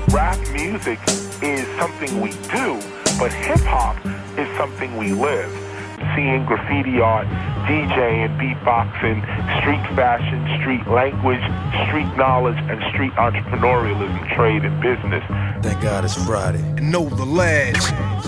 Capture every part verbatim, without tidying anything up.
rap music is something we do, but hip-hop is something we live. Seeing graffiti art, DJing, beatboxing, street fashion, street language, street knowledge, and street entrepreneurialism, trade and business. Thank God it's Friday. Know the ledge.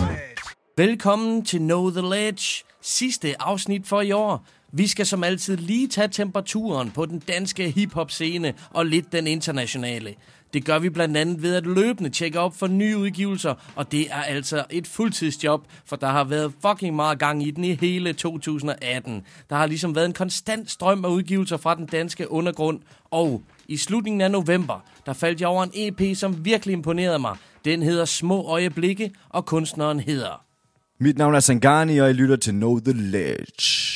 Velkommen til Know the Ledge, sidste afsnit for i år. Vi skal som altid lige tage temperaturen på den danske hiphop-scene og lidt den internationale. Det gør vi blandt andet ved at løbende tjekke op for nye udgivelser, og det er altså et fuldtidsjob, for der har været fucking meget gang i den i hele to tusind atten. Der har ligesom været en konstant strøm af udgivelser fra den danske undergrund, og i slutningen af november, der faldt jeg over en E P, som virkelig imponerede mig. Den hedder Små Øjeblikke, og kunstneren hedder... Mit navn er Sangani, og jeg lytter til Know the Ledge.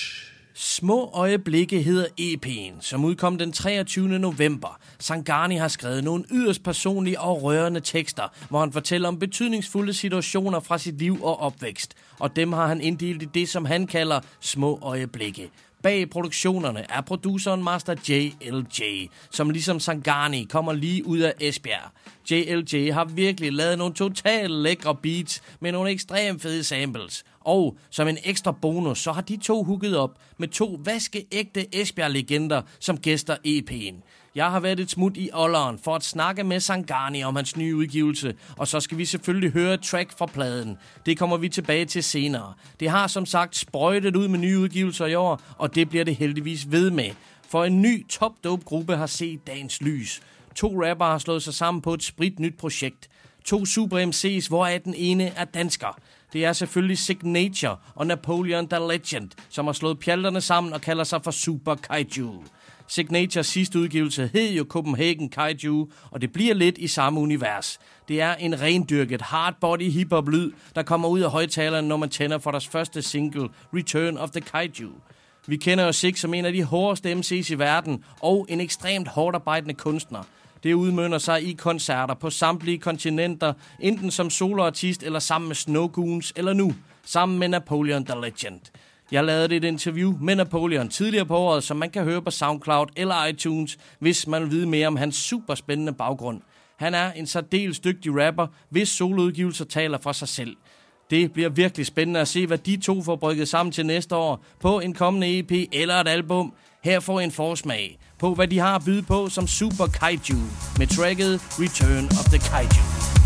Små Øjeblikke hedder E P'en, som udkom den treogtyvende november. Sangani har skrevet nogle yderst personlige og rørende tekster, hvor han fortæller om betydningsfulde situationer fra sit liv og opvækst. Og dem har han inddelt i det, som han kalder små øjeblikke. Bag produktionerne er produceren Master J L J, som ligesom Sangani kommer lige ud af Esbjerg. J L J har virkelig lavet nogle totalt lækre beats med nogle ekstremt fede samples. Og som en ekstra bonus, så har de to hooket op med to vaskeægte Esbjerg-legender som gæster E P'en. Jeg har været et smut i Olleren for at snakke med Sangani om hans nye udgivelse, og så skal vi selvfølgelig høre et track fra pladen. Det kommer vi tilbage til senere. Det har som sagt sprøjtet ud med nye udgivelser i år, og det bliver det heldigvis ved med. For en ny top-dope-gruppe har set dagens lys. To rapper har slået sig sammen på et spritnyt projekt. To super M C's, hvoraf den ene er dansker. Det er selvfølgelig Signature og Napoleon the Legend, som har slået pjalterne sammen og kalder sig for Super Kaiju. Signatures sidste udgivelse hed jo Copenhagen Kaiju, og det bliver lidt i samme univers. Det er en rendyrket hardbody hiphop-lyd, der kommer ud af højtalerne, når man tænder for deres første single, Return of the Kaiju. Vi kender jo Sig som en af de hårdeste M C's i verden, og en ekstremt hårdt arbejdende kunstner. Det udmønter sig i koncerter på samtlige kontinenter, enten som soloartist eller sammen med Snow Goons, eller nu sammen med Napoleon the Legend. Jeg lavede et interview med Napoleon tidligere på året, som man kan høre på SoundCloud eller iTunes, hvis man vil vide mere om hans superspændende baggrund. Han er en særdeles dygtig rapper, hvis soloudgivelser taler for sig selv. Det bliver virkelig spændende at se, hvad de to får brygget sammen til næste år på en kommende E P eller et album. Her får I en forsmag på, hvad de har at byde på som Super Kaiju med tracket Return of the Kaiju.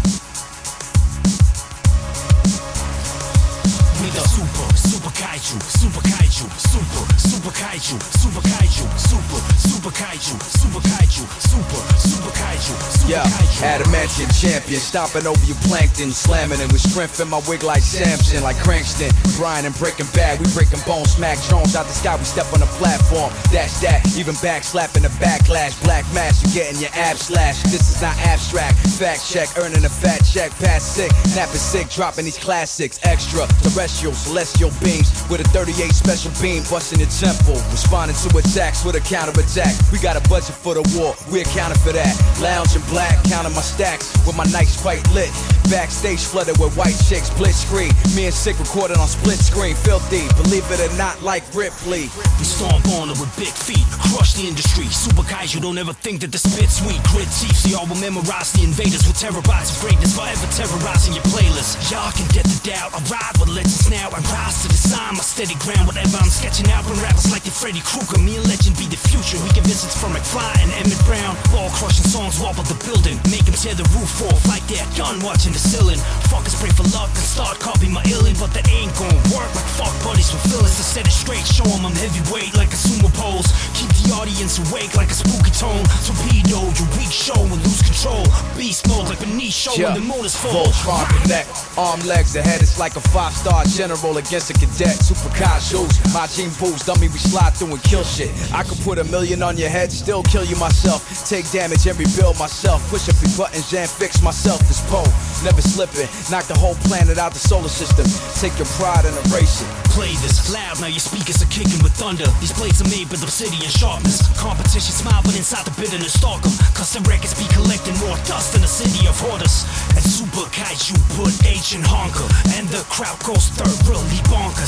Super, super kaiju, super kaiju, super, super kaiju, super kaiju, super, super kaiju, super kaiju, super, super kaiju, super yeah, kaiju. Adamantium champion, stomping over your plankton, slamming it with strength in my wig like Samson, like Crankston, Brian and Breaking Bad, we breaking bones, smack drones out the sky, we step on the platform, that's that, even back slapping the backlash, black mask, you getting your abs slashed, this is not abstract, fact check, earning a fat check, pass sick, napping sick, dropping these classics, extra, terrestrial, celestial beams, with a thirty-eight special beam busting your temple, responding to attacks with a counter-attack, we got a budget for the war, we accounted for that, lounge in black, counting my stacks, with my nights quite lit, backstage flooded with white chicks, blitz screen, me and Sick recorded on split screen, filthy, believe it or not, like Ripley. We stomp on it with big feet, crush the industry, super kaiju, don't ever think that the spit's sweet, grit teeth, so y'all will memorize the invaders with terabytes of greatness, forever terrorizing your playlist, y'all can get the doubt, I ride with legends now, and rise to the sign, my steady ground, whatever I'm sketching out, when rappers like the Freddy Krueger, me and Legend be the future, we get visits from McFly and Emmett Brown, ball crushing songs wobble the building, make them tear the roof off like they're done watching the ceiling, fuckers pray for luck and start copying my illin', but that ain't gon' work, like fuck buddies with feelings, to set it straight, show them I'm heavyweight like a sumo pose, keep the audience awake like a spooky tone, torpedo, your weak show and lose control, beast mode like Benicio yeah. when the moon is full, Voltron connect, arm legs ahead, it's like a five-star general against a cadet, super kaijus, my team boost, dummy, we slide through and kill shit, I could put a million on your head, still kill you myself, take damage and rebuild myself, push a few buttons and fix myself, this pole, never slipping, knock the whole planet out the solar system, take your pride and erase it. Play this loud, now your speakers are kicking with thunder, these blades are made with obsidian sharpness, competition smile but inside the bitterness stalk them, custom records be collecting more dust than a city of hoarders, and Super Kaiju put H in honker, and the crowd goes third really bonkers.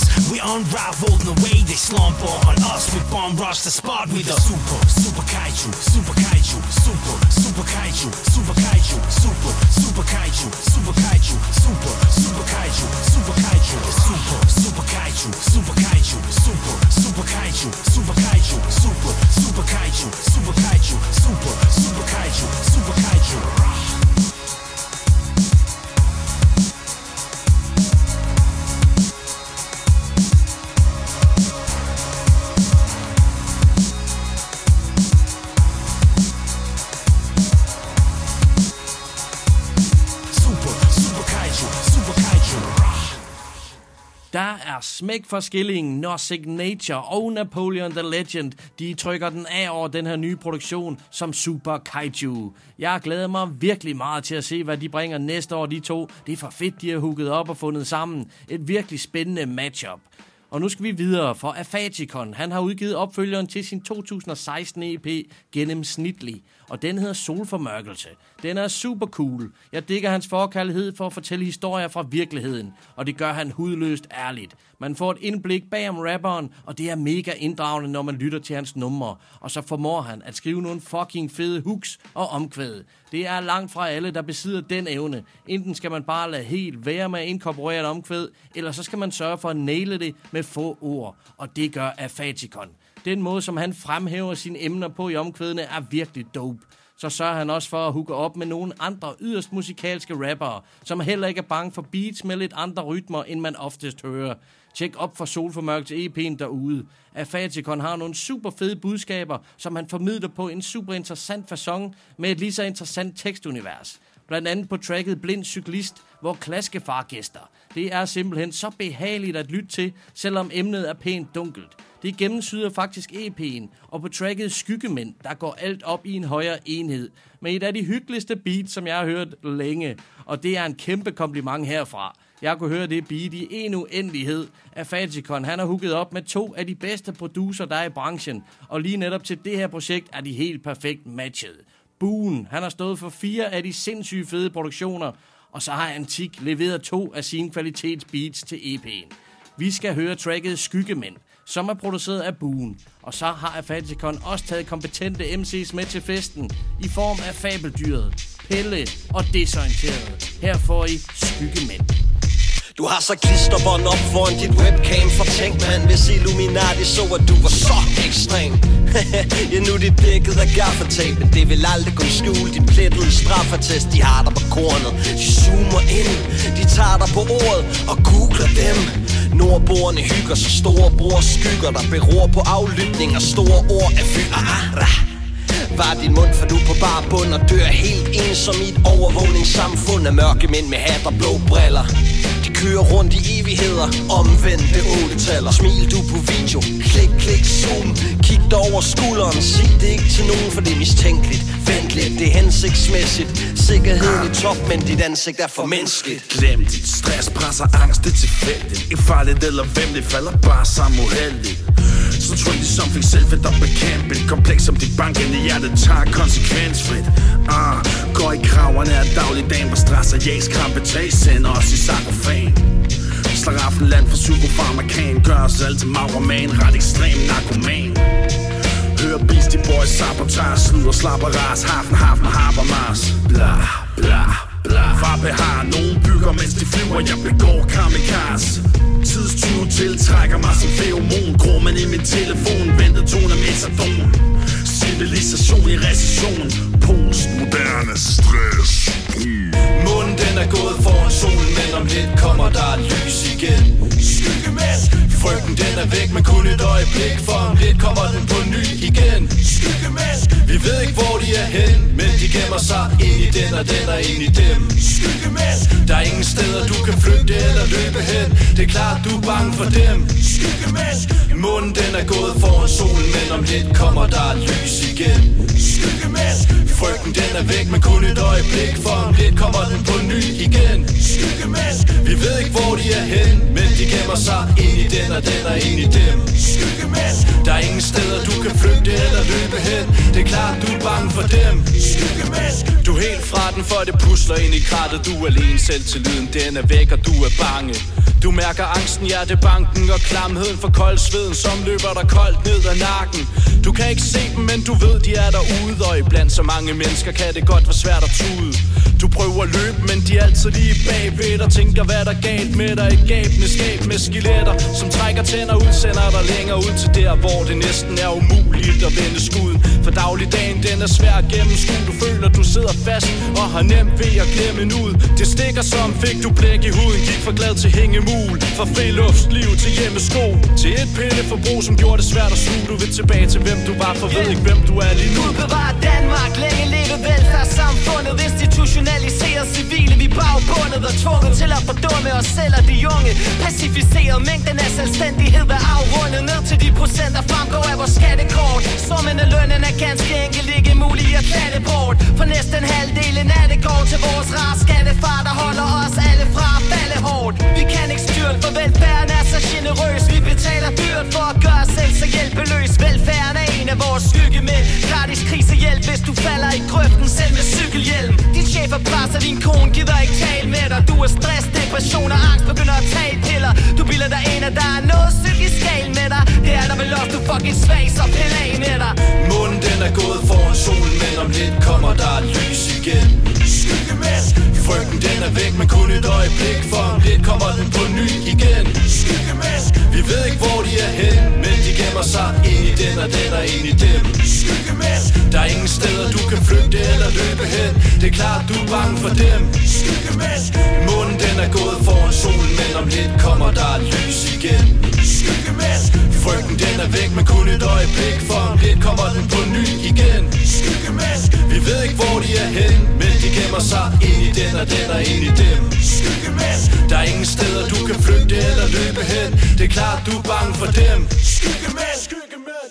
us. We unraveled in the way they slumber on us. We bomb rush the spot with the super, super kaiju, super kaiju, super, super kaiju, super kaiju, super, super kaiju, super kaiju, super, super kaiju, super kaiju, super, super kaiju, super kaiju, super, super kaiju, super kaiju, super, super kaiju, super kaiju, super, super kaiju, super kaiju. Der er smæk for skillingen, når Signature og Napoleon the Legend, de trykker den af over den her nye produktion som Super Kaiju. Jeg glæder mig virkelig meget til at se, hvad de bringer næste år, de to. Det er for fedt, de har hooket op og fundet sammen. Et virkelig spændende matchup. Og nu skal vi videre, for Afatikon, han har udgivet opfølgeren til sin to tusind og seksten E P Gennemsnitlig, og den hedder Solformørkelse. Den er super cool. Jeg digger hans forkærlighed for at fortælle historier fra virkeligheden, og det gør han hudløst ærligt. Man får et indblik bag om rapperen, og det er mega inddragende, når man lytter til hans numre. Og så formår han at skrive nogle fucking fede hooks og omkvæd. Det er langt fra alle, der besidder den evne. Enten skal man bare lade helt være med at inkorporere et omkvæd, eller så skal man sørge for at naile det med få ord. Og det gør Afatikon. Den måde, som han fremhæver sine emner på i omkvædene, er virkelig dope. Så sørger han også for at hooke op med nogle andre yderst musikalske rappere, som heller ikke er bange for beats med lidt andre rytmer, end man oftest hører. Tjek op for Solformørkelse E P'en derude. Afatikon har nogle super fede budskaber, som han formidler på en super interessant facon med et lige så interessant tekstunivers. Blandt andet på tracket Blind Cyklist, hvor klaskefar gæster. Det er simpelthen så behageligt at lytte til, selvom emnet er pænt dunkelt. Det gennemsyder faktisk E P'en, og på tracket Skyggemænd, der går alt op i en højere enhed. Med et af de hyggeligste beats, som jeg har hørt længe, og det er en kæmpe kompliment herfra. Jeg kunne høre det beat i en uendelighed. Afatikon, han har hooket op med to af de bedste producer, der er i branchen, og lige netop til det her projekt er de helt perfekt matchet. Boone, han har stået for fire af de sindssyge fede produktioner, og så har Antik leveret to af sine kvalitetsbeats til E P'en. Vi skal høre tracket Skyggemænd, som er produceret af Boone, og så har Afatikon også taget kompetente M C's med til festen i form af Fabeldyret, Pelle og Desorienteret. Her får I Skyggemænd. Du har så klisterbånd op foran dit webcam. For tænk man, hvis Illuminati så at du var så ekstrem. Ja, nu dit dækket af gaffatape, men det vil aldrig kunne skjule din plettede straffatest. De har dig på kornet, de zoomer ind, de tager dig på ordet og googler dem. Nordboerne hygger så store bror skygger, der beror på aflytning og store ord af fyre. Var din mund, for du på bare bund og dør helt ensom i et overvågningssamfund af mørke mænd med hat og blå briller. De kører rundt i evigheder, omvendte otte-taller. Smil du på video, klik, klik, zoom. Kig dig over skulderen, sig det ikke til nogen, for det er mistænkeligt. Vent lidt, det er hensigtsmæssigt. Sikkerheden i top, men dit ansigt er for menneskeligt. Glem dit stress, presser angst, det er tilfældigt. Ikke farligt eller hvem, det falder bare sammen uheldigt. Så trendy som fik selv fedt og bekæmpet. Kompleks som dit bankende hjerte tager konsekvensfrit. Ah, går i kraverne af dagligdagen, hvor stress og jægskrampe tag sender os i sarkofan. Slaraffenland for psykofarmakan, gør os alle til magerman, ret ekstrem narkoman. Hør Beastie Boys, sabotage, slud og slapper ras, hafen, hafen, Habermas. Bla, bla, bla. Farbe har nogen bygger, mens de flyver, jeg begår kamikaze. Tidstyve tiltrækker mig som feromon. Grummen i min telefon, ventet tone metadon. Civilisation i recession, postmoderne stress. Månen den er gået foran solen, men om lidt kommer der lys igen. Skyggemænd. Frygten den er væk, men kun et øjeblik, for om lidt kommer den på ny igen. Skyggemænd. Vi ved ikke hvor de er hen, men de gemmer sig ind i den og den og ind i dem. Skyggemænd. Der er ingen steder du kan flygte eller løbe hen. Det er klart du er bange for dem. Skyggemænd. Månen den er gået foran solen, men om lidt kommer der lys igen. Skyggemænd. Frygten den er væk, men kun et øjeblik, for om lidt kommer den på ny igen. Skyggemænd. Vi ved ikke hvor de er hen, men de gemmer sig ind i den og den og ind i dem. Skyggemænd. Der er ingen steder du kan flygte eller løbe hen. Det er klart du er bange for dem. Skyggemænd. Du er helt fra den, for det pusler ind i krattet. Du er alene, selvtilliden den er væk og du er bange. Du mærker angsten, hjertebanken og klamheden for kold sveden, som løber dig koldt ned ad nakken. Du kan ikke se dem, men du ved de er derude, og iblandt så mange mennesker kan det godt være svært at tude. Du prøver at løbe, men de er altid lige bagved og tænker hvad der er galt med dig. Et gabende skab med skeletter, som trækker tænder ud, sender dig længere ud til der, hvor det næsten er umuligt at vende skuden. For dagligdagen den er svær at gennemskue. Du føler du sidder fast og har nemt ved at glemme en ud. Det stikker som fik du blæk i huden, gik for glad til hængemul. Fra friluftsliv til hjemmesko, til et pilleforbrug som gjorde det svært at sluge. Du vil tilbage til hvem du var, for ved ikke hvem du er lige nu. Gud bevarer Danmark, længe leve velfærdssamfundet. Institutionaliseret civile, vi bagbundet og tvunget til at fordumme os selv og de unge. Pacificeret mængden af selvstændighed er afrundet ned til de procenter fremgår af vores skattekort. Summen af lønnen er ganske enkelt ikke mulig at klatte bort. For næsten halvdelen af det går til vores rare skattefar, der holder os alle fra at falde hårdt. Vi kan ikke styre, for velfærden er så generøs. Vi betaler dyrt for at gøre os selv så hjælpeløs. Velfærden er en af vores skyggemænd. Gratis krisehjælp, hvis du falder i grøften selv med cykelhjelm. Din chef er presser, din kone gider ikke tale med dig. Du er stress, depression og angst, begynder at tage piller. Du bilder dig ind, at der er noget psykisk galt med dig. Det er der vel også, du fucking svag, så pille af med dig. Månen den er gået foran solen, men om lidt kommer der lys igen. Skyggemænd. Frygten den er væk, men kun et øjeblik, for om lidt kommer den på ny igen. Skyggemænd. Vi ved ikke hvor de er hen, men de gemmer sig ind i den og den og ind i dem. Skyggemænd. Der er ingen steder du kan flygte eller løbe hen. Det er klart du er bange for dem. Skyggemænd. Månen den er gået foran solen, men om lidt kommer der lys igen. Skyggemænd. Frygten den er væk, men kun et øjeblik, for om lidt kommer den på ny igen. Skyggemænd. Vi ved ikke hvor de er hen, men de gemmer sig ind i den og den og ind i dem. Skyggemænd. Der er ingen steder du kan flygte eller løbe hen. Det er klart du er bange for dem. Skyggemænd. Skyggemænd.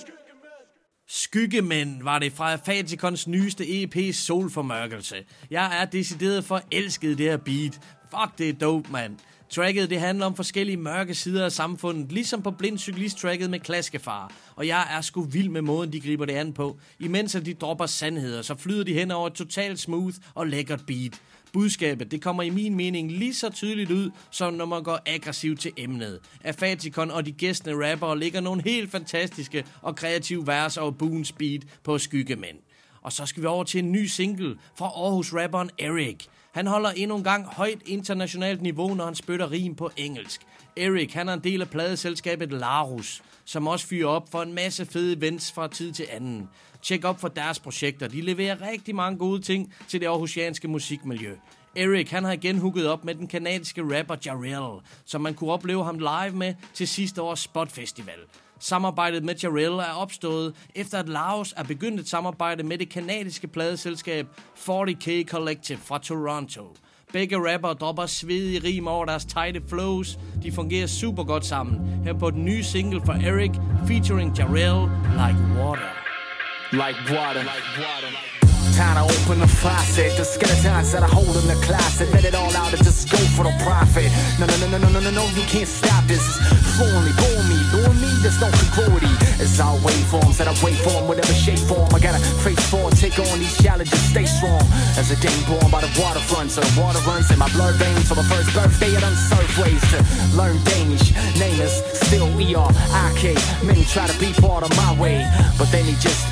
Skyggemænd var det fra Faticons nyeste E P Solformørkelse. Jeg er decideret forelsket det her beat. Fuck, det er dope, mand. Tracket det handler om forskellige mørke sider af samfundet, ligesom på Blind Cyklist-tracket med Klaskefar. Og jeg er sgu vild med måden, de griber det an på. Imens at de dropper sandheder, så flyder de hen over et totalt smooth og lækkert beat. Budskabet, det kommer i min mening lige så tydeligt ud, som når man går aggressivt til emnet. Afaticon og de gæstende rappere ligger nogle helt fantastiske og kreative vers over Boons beat på Skyggemænd. Og så skal vi over til en ny single fra Aarhus-rapperen Erik. Han holder endnu en gang højt internationalt niveau, når han spytter rim på engelsk. Erik, han er en del af pladeselskabet Larus, som også fyrer op for en masse fede events fra tid til anden. Tjek op for deres projekter. De leverer rigtig mange gode ting til det aarhusianske musikmiljø. Erik, han har igen hooket op med den kanadiske rapper Jarrell, som man kunne opleve ham live med til sidste års Spot Festival. Samarbejdet med Jarrell er opstået efter at Laos er begyndt et samarbejde med det kanadiske pladeselskab fyrre K Collective fra Toronto. Begge rapper dropper svedige rim over deres tighte flows. De fungerer super godt sammen. Her på den nye single fra Erik featuring Jarrell, Like Water. Like water. Like water. Time to open the faucet. The skeletons that I hold in the closet. Let it all out and just go for the profit. No, no, no, no, no, no, no, no, you can't stop this. It's flowing me, blowing me, doing me. There's no congruity. It's all waveforms that I wait for in whatever shape form. I gotta face forward, take on these challenges, stay strong. As a game born by the waterfront, so the water runs in my blood veins. For my first birthday, I done surf ways to learn Danish. Name is still E R I K. Many try to be part of my way, but then he just...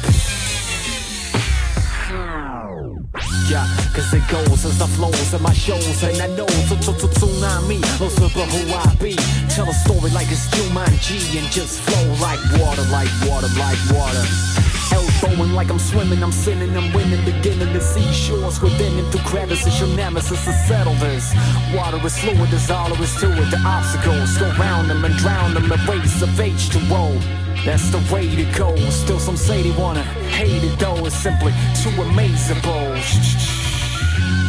Yeah, cause it goes as the flows in my shows. And I know tsunami, also but who I be. Tell a story like it's Jumanji and just flow like water, like water, like water. Elbowing like I'm swimming, I'm sinning, I'm winning. Beginning to see shores within him through crevices. Your nemesis to settle this. Water is fluid, there's all there is to it. The obstacles go round them and drown them. The race of H two O. That's the way to go. Still some say they wanna hate it though. It's simply too amazable.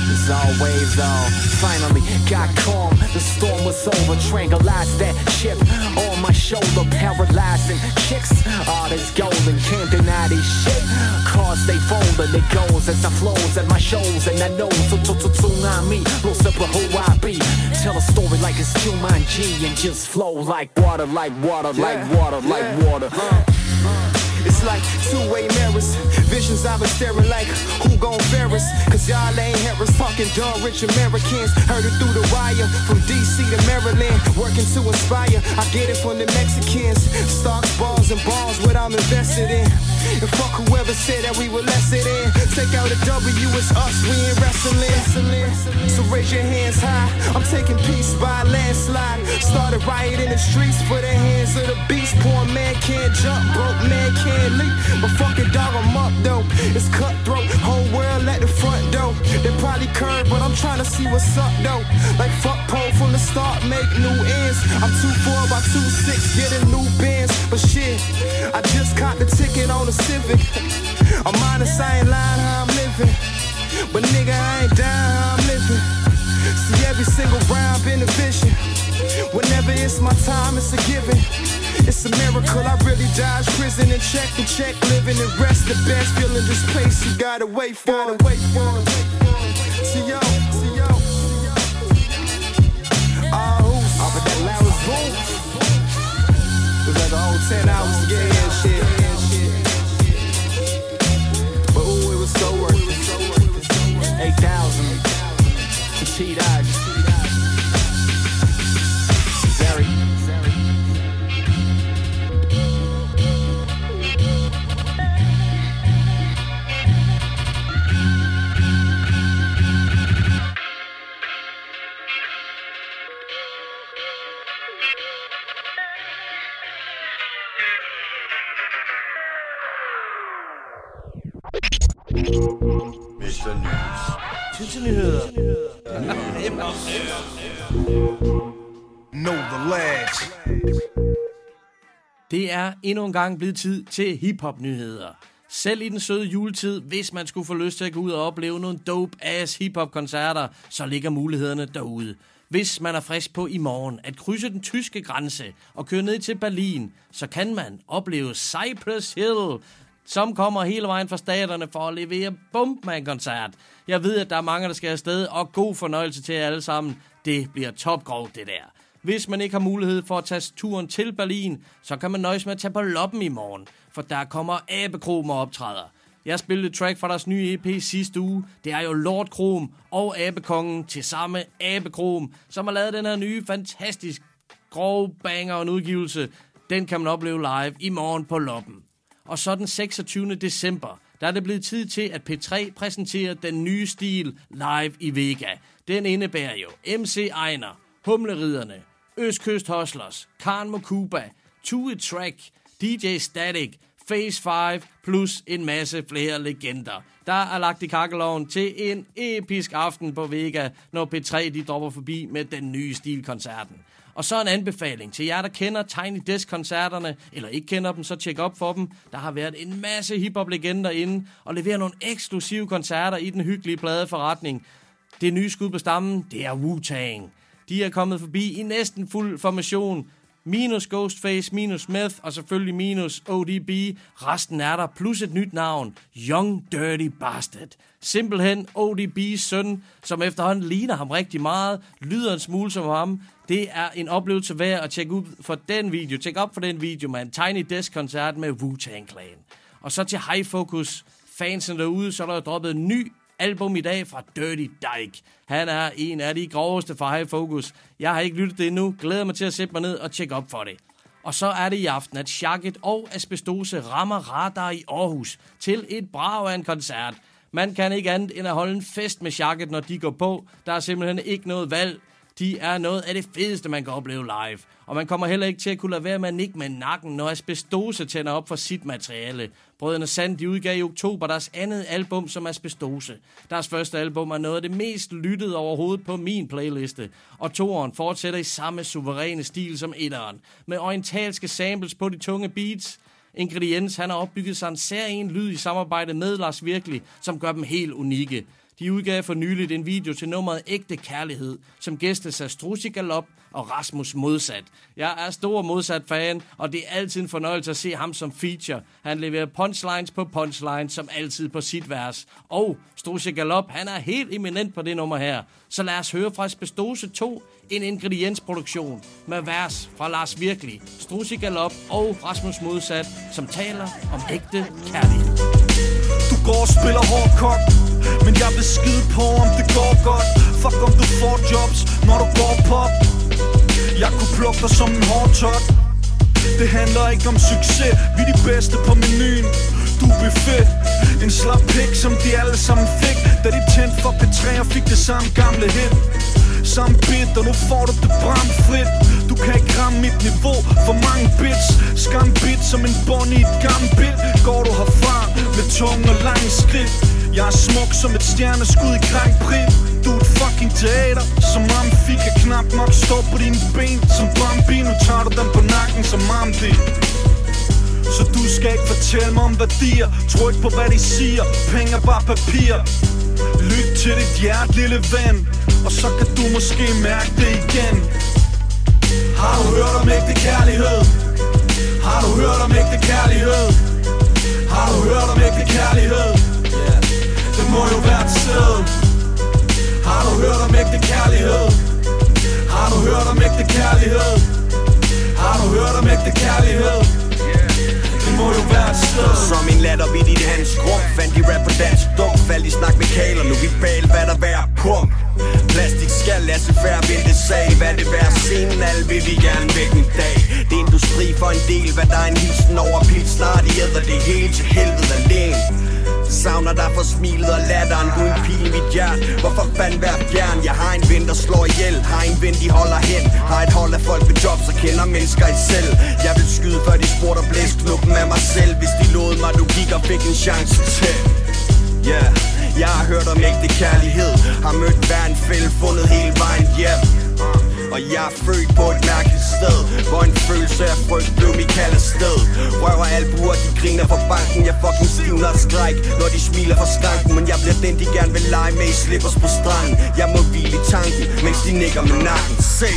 As always, uh, finally got calm. The storm was over, tranquilized that ship on my shoulder, paralyzing chicks. All this golden, can't deny this shit. Cars they fold and it goes as I flows at my shows, and I know so to to tsunami blows up who I be. Tell a story like it's Jumanji and just flow like water, like water, yeah. like water, yeah. like water. Uh. It's like two-way mirrors, visions I was staring like who gon' Ferris? Cause y'all ain't Harris, fucking dumb rich Americans. Heard it through the wire, from D C to Maryland, working to inspire. I get it from the Mexicans, stocks, balls, and balls, what I'm invested in. And fuck whoever said that we were less it in. Take out a W, it's us, we ain't wrestling. So raise your hands high, I'm taking peace by a landslide. Started riot in the streets for the hands of the beast. Poor man can't jump, broke man can't leap. But fuck it, dog, I'm up though. It's cutthroat, whole world at the front door. They probably curb, but I'm trying to see what's up though. Like fuck pole from the start, make new ends. I'm two four by two six, getting new bands. But shit, I just caught the ticket on the Civic. I'm honest, I ain't lying how I'm living. But nigga, I ain't dying how I'm living. See every single round been a vision. Whenever it's my time, it's a given. It's a miracle, I really dodged prison and check and check, living and rest the best. Feeling this place, you gotta wait for gotta it. Wait for it. See yo, see yo. Oh, who's up at that loudest boom? It was like a whole ten hours to get here and shit. But ooh, it was so worth it. Eight thousand to T-Dog. Zary. mister News. Til nyheder. Know the lads. Det er endnu en gang blevet tid til hiphop-nyheder. Selv i den søde juletid, hvis man skulle få lyst til at gå ud og opleve nogle dope-ass hiphop-koncerter, så ligger mulighederne derude. Hvis man er frisk på i morgen at krydse den tyske grænse og køre ned til Berlin, så kan man opleve Cypress Hill, som kommer hele vejen fra staterne for at levere Bumpman-koncert. Jeg ved, at der er mange, der skal afsted, og god fornøjelse til jer alle sammen. Det bliver topgrov, det der. Hvis man ikke har mulighed for at tage turen til Berlin, så kan man nøjes med at tage på Loppen i morgen, for der kommer Abekrom og optræder. Jeg spillede et track fra deres nye E P sidste uge. Det er jo Lord Krom og Abekongen til samme Abekrom, som har lavet den her nye, fantastisk grove banger og en udgivelse. Den kan man opleve live i morgen på Loppen. Og så den seksogtyvende december, der er det blevet tid til, at P tre præsenterer den nye stil live i Vega. Den indebærer jo M C Ejner, Humleriderne, Østkyst Hustlers, Karen Mokuba, Tue Track, D J Static, Phase fem plus en masse flere legender. Der er lagt i kakkeloven til en episk aften på Vega, når P tre de dropper forbi med den nye stilkoncerten. Og så en anbefaling til jer, der kender Tiny Desk-koncerterne, eller ikke kender dem, så tjek op for dem. Der har været en masse hiphop-legender inde, og leverer nogle eksklusive koncerter i den hyggelige pladeforretning. Det nye skud på stammen, det er Wu-Tang. De er kommet forbi i næsten fuld formation. Minus Ghostface, minus Meth, og selvfølgelig minus O D B. Resten er der, plus et nyt navn. Young Dirty Bastard. Simpelthen O D B's søn, som efterhånden ligner ham rigtig meget. Lyder en smule som ham. Det er en oplevelse værd at tjekke ud for den video. Tjek op for den video med en Tiny Desk-koncert med Wu-Tang Clan. Og så til High Focus. Fansen derude, så er der droppet en ny album i dag fra Dirty Dyke. Han er en af de groveste fra High Focus. Jeg har ikke lyttet det endnu. Glæder mig til at sætte mig ned og tjekke op for det. Og så er det i aften, at Shagget og Asbestose rammer Radar i Aarhus til et brag af en koncert. Man kan ikke andet end at holde en fest med Shagget, når de går på. Der er simpelthen ikke noget valg. De er noget af det fedeste, man kan opleve live. Og man kommer heller ikke til at kunne lade være med at nikke med nakken, når Asbestose tænder op for sit materiale. Brødrene Sand, de udgav i oktober deres andet album som Asbestose. Deres første album er noget af det mest lyttede overhovedet på min playliste. Og toeren fortsætter i samme suveræne stil som etteren. Med orientalske samples på de tunge beats. Ingrediens, han har opbygget sig en særlig lyd i samarbejde med Lars Virkelig, som gør dem helt unikke. De udgav for nyligt en video til nummeret Ægte Kærlighed, som gæstes af Struzzi Galop og Rasmus Modsat. Jeg er stor Modsat-fan, og det er altid en fornøjelse at se ham som feature. Han leverer punchlines på punchlines, som altid på sit vers. Og Struzzi Galop, han er helt eminent på det nummer her. Så lad os høre fra Asbestose to, en ingrediensproduktion med vers fra Lars Virkelig, Struzzi Galop og Rasmus Modsat, som taler om ægte kærlighed. Du går og spiller hårdkok, men jeg vil skide på, om det går godt. Fuck om du får jobs, når du går pop. Jeg kunne plukke dig som en hårdtot. Det handler ikke om succes, vi er de bedste på menuen. Du er buffet, en slap pik, som de alle sammen fik, da de tændte for P tre og fik det samme gamle hit. Samme bit, og nu får du det bramfrit. Du kan ikke ramme mit niveau, for mange bits. Skam bit som en bund i et gammelt bit. Går du herfra med tunge og lange skridt. Jeg er smuk som et stjerneskud i Grand Prix. Du er et fucking teater, som Amfi kan knap nok stå på dine ben. Som Bambi, nu tager du dem på nakken som Amdi. Så du skal ikke fortælle mig om værdier. Tro ikke på hvad de siger, penge er bare papir. Lyt til dit hjerte, lille ven, og så kan du måske mærke det igen. Har du hørt om ægte kærlighed? Har du hørt om ægte kærlighed? Har du hørt om ægte kærlighed? Yeah. Det må jo være et sted. Har du hørt om ægte kærlighed? Har du hørt om ægte kærlighed? Har du hørt om ægte kærlighed? Det må jo være et sted. Som en latter vidt i det hans grum. Fandt de rap på dansk dum. Faldt i snak med kaler, nu vi bal, hvad der vær pump. Plastik skal lade sig færre vente sag. Hvad det være scenen, alle vil vi gerne væk en dag. Det er industri for en del, hvad der er en hilsen over pil. Snart de æder det hele til helvede alene. Savner dig for smilet og latteren. Du er en pil i mit hjert. Hvorfor fanden være fjern? Jeg har en ven, der slår ihjel. Har en ven, de holder hen. Har et hold af folk med jobs og kender mennesker i selv. Jeg vil skyde før de spurgte og blæse knuppen af mig selv. Hvis de lovede mig logik og fik en chance til. Yeah, jeg har hørt om ægte kærlighed. Har mødt hver en fælde, fundet hele vejen hjem. Og jeg er født på et mærkeligt sted, hvor en følelse af frygt blev mit kaldet sted. Røv og albuer, de griner fra banken. Jeg fucking stivner og skræk, når de smiler fra skranken. Men jeg bliver den, de gerne vil lege med i slippers på stranden. Jeg må hvile i tanken, mens de nikker med nakken. Se!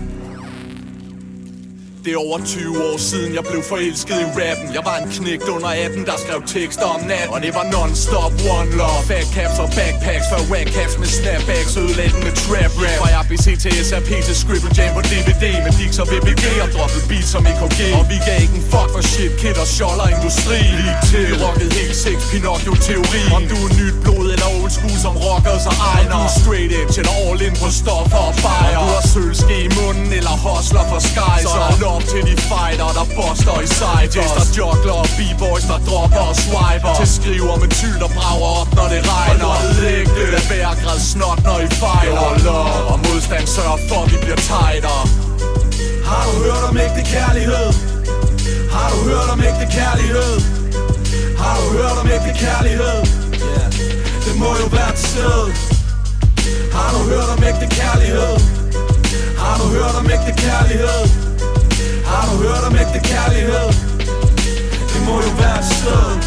Det er over tyve år siden jeg blev forelsket i rappen. Jeg var en knægt under atten, der skrev tekster om natten. Og det var non-stop one love. Fat caps og backpacks for whack caps med snapbacks. Ødelæggen med trap rap. Fra R B C til S R P til Scribble Jam på D V D. Med Dix og V B G og droppet beats som E K G. Og vi gav ikke en fuck for shit, kid og sjoller industri. Lige til vi rockede helt sex, Pinocchio-teori. Om du er nyt blod eller old school som rockers og Ejner. Om du er straight edge eller all in på stoffer og bajer. Om du har sølske i munden eller hustler for skies. Så er lov til de fighter, der buster i siders. Der joggler og b-boys, der dropper og swiper. Til skriver med tyld, der brager op, når det regner. Og lægge det er hver grad snot, når I fejler. Og modstand sørger for, at vi bliver tighter. Har du hørt om ægte kærlighed? Har du hørt om ægte kærlighed? Har du hørt om ægte kærlighed? Yeah. Det må jo være et sted. Har du hørt om ægte kærlighed? Har du hørt om ægte kærlighed? Har du hørt om ægte kærlighed? Det må jo være et sted.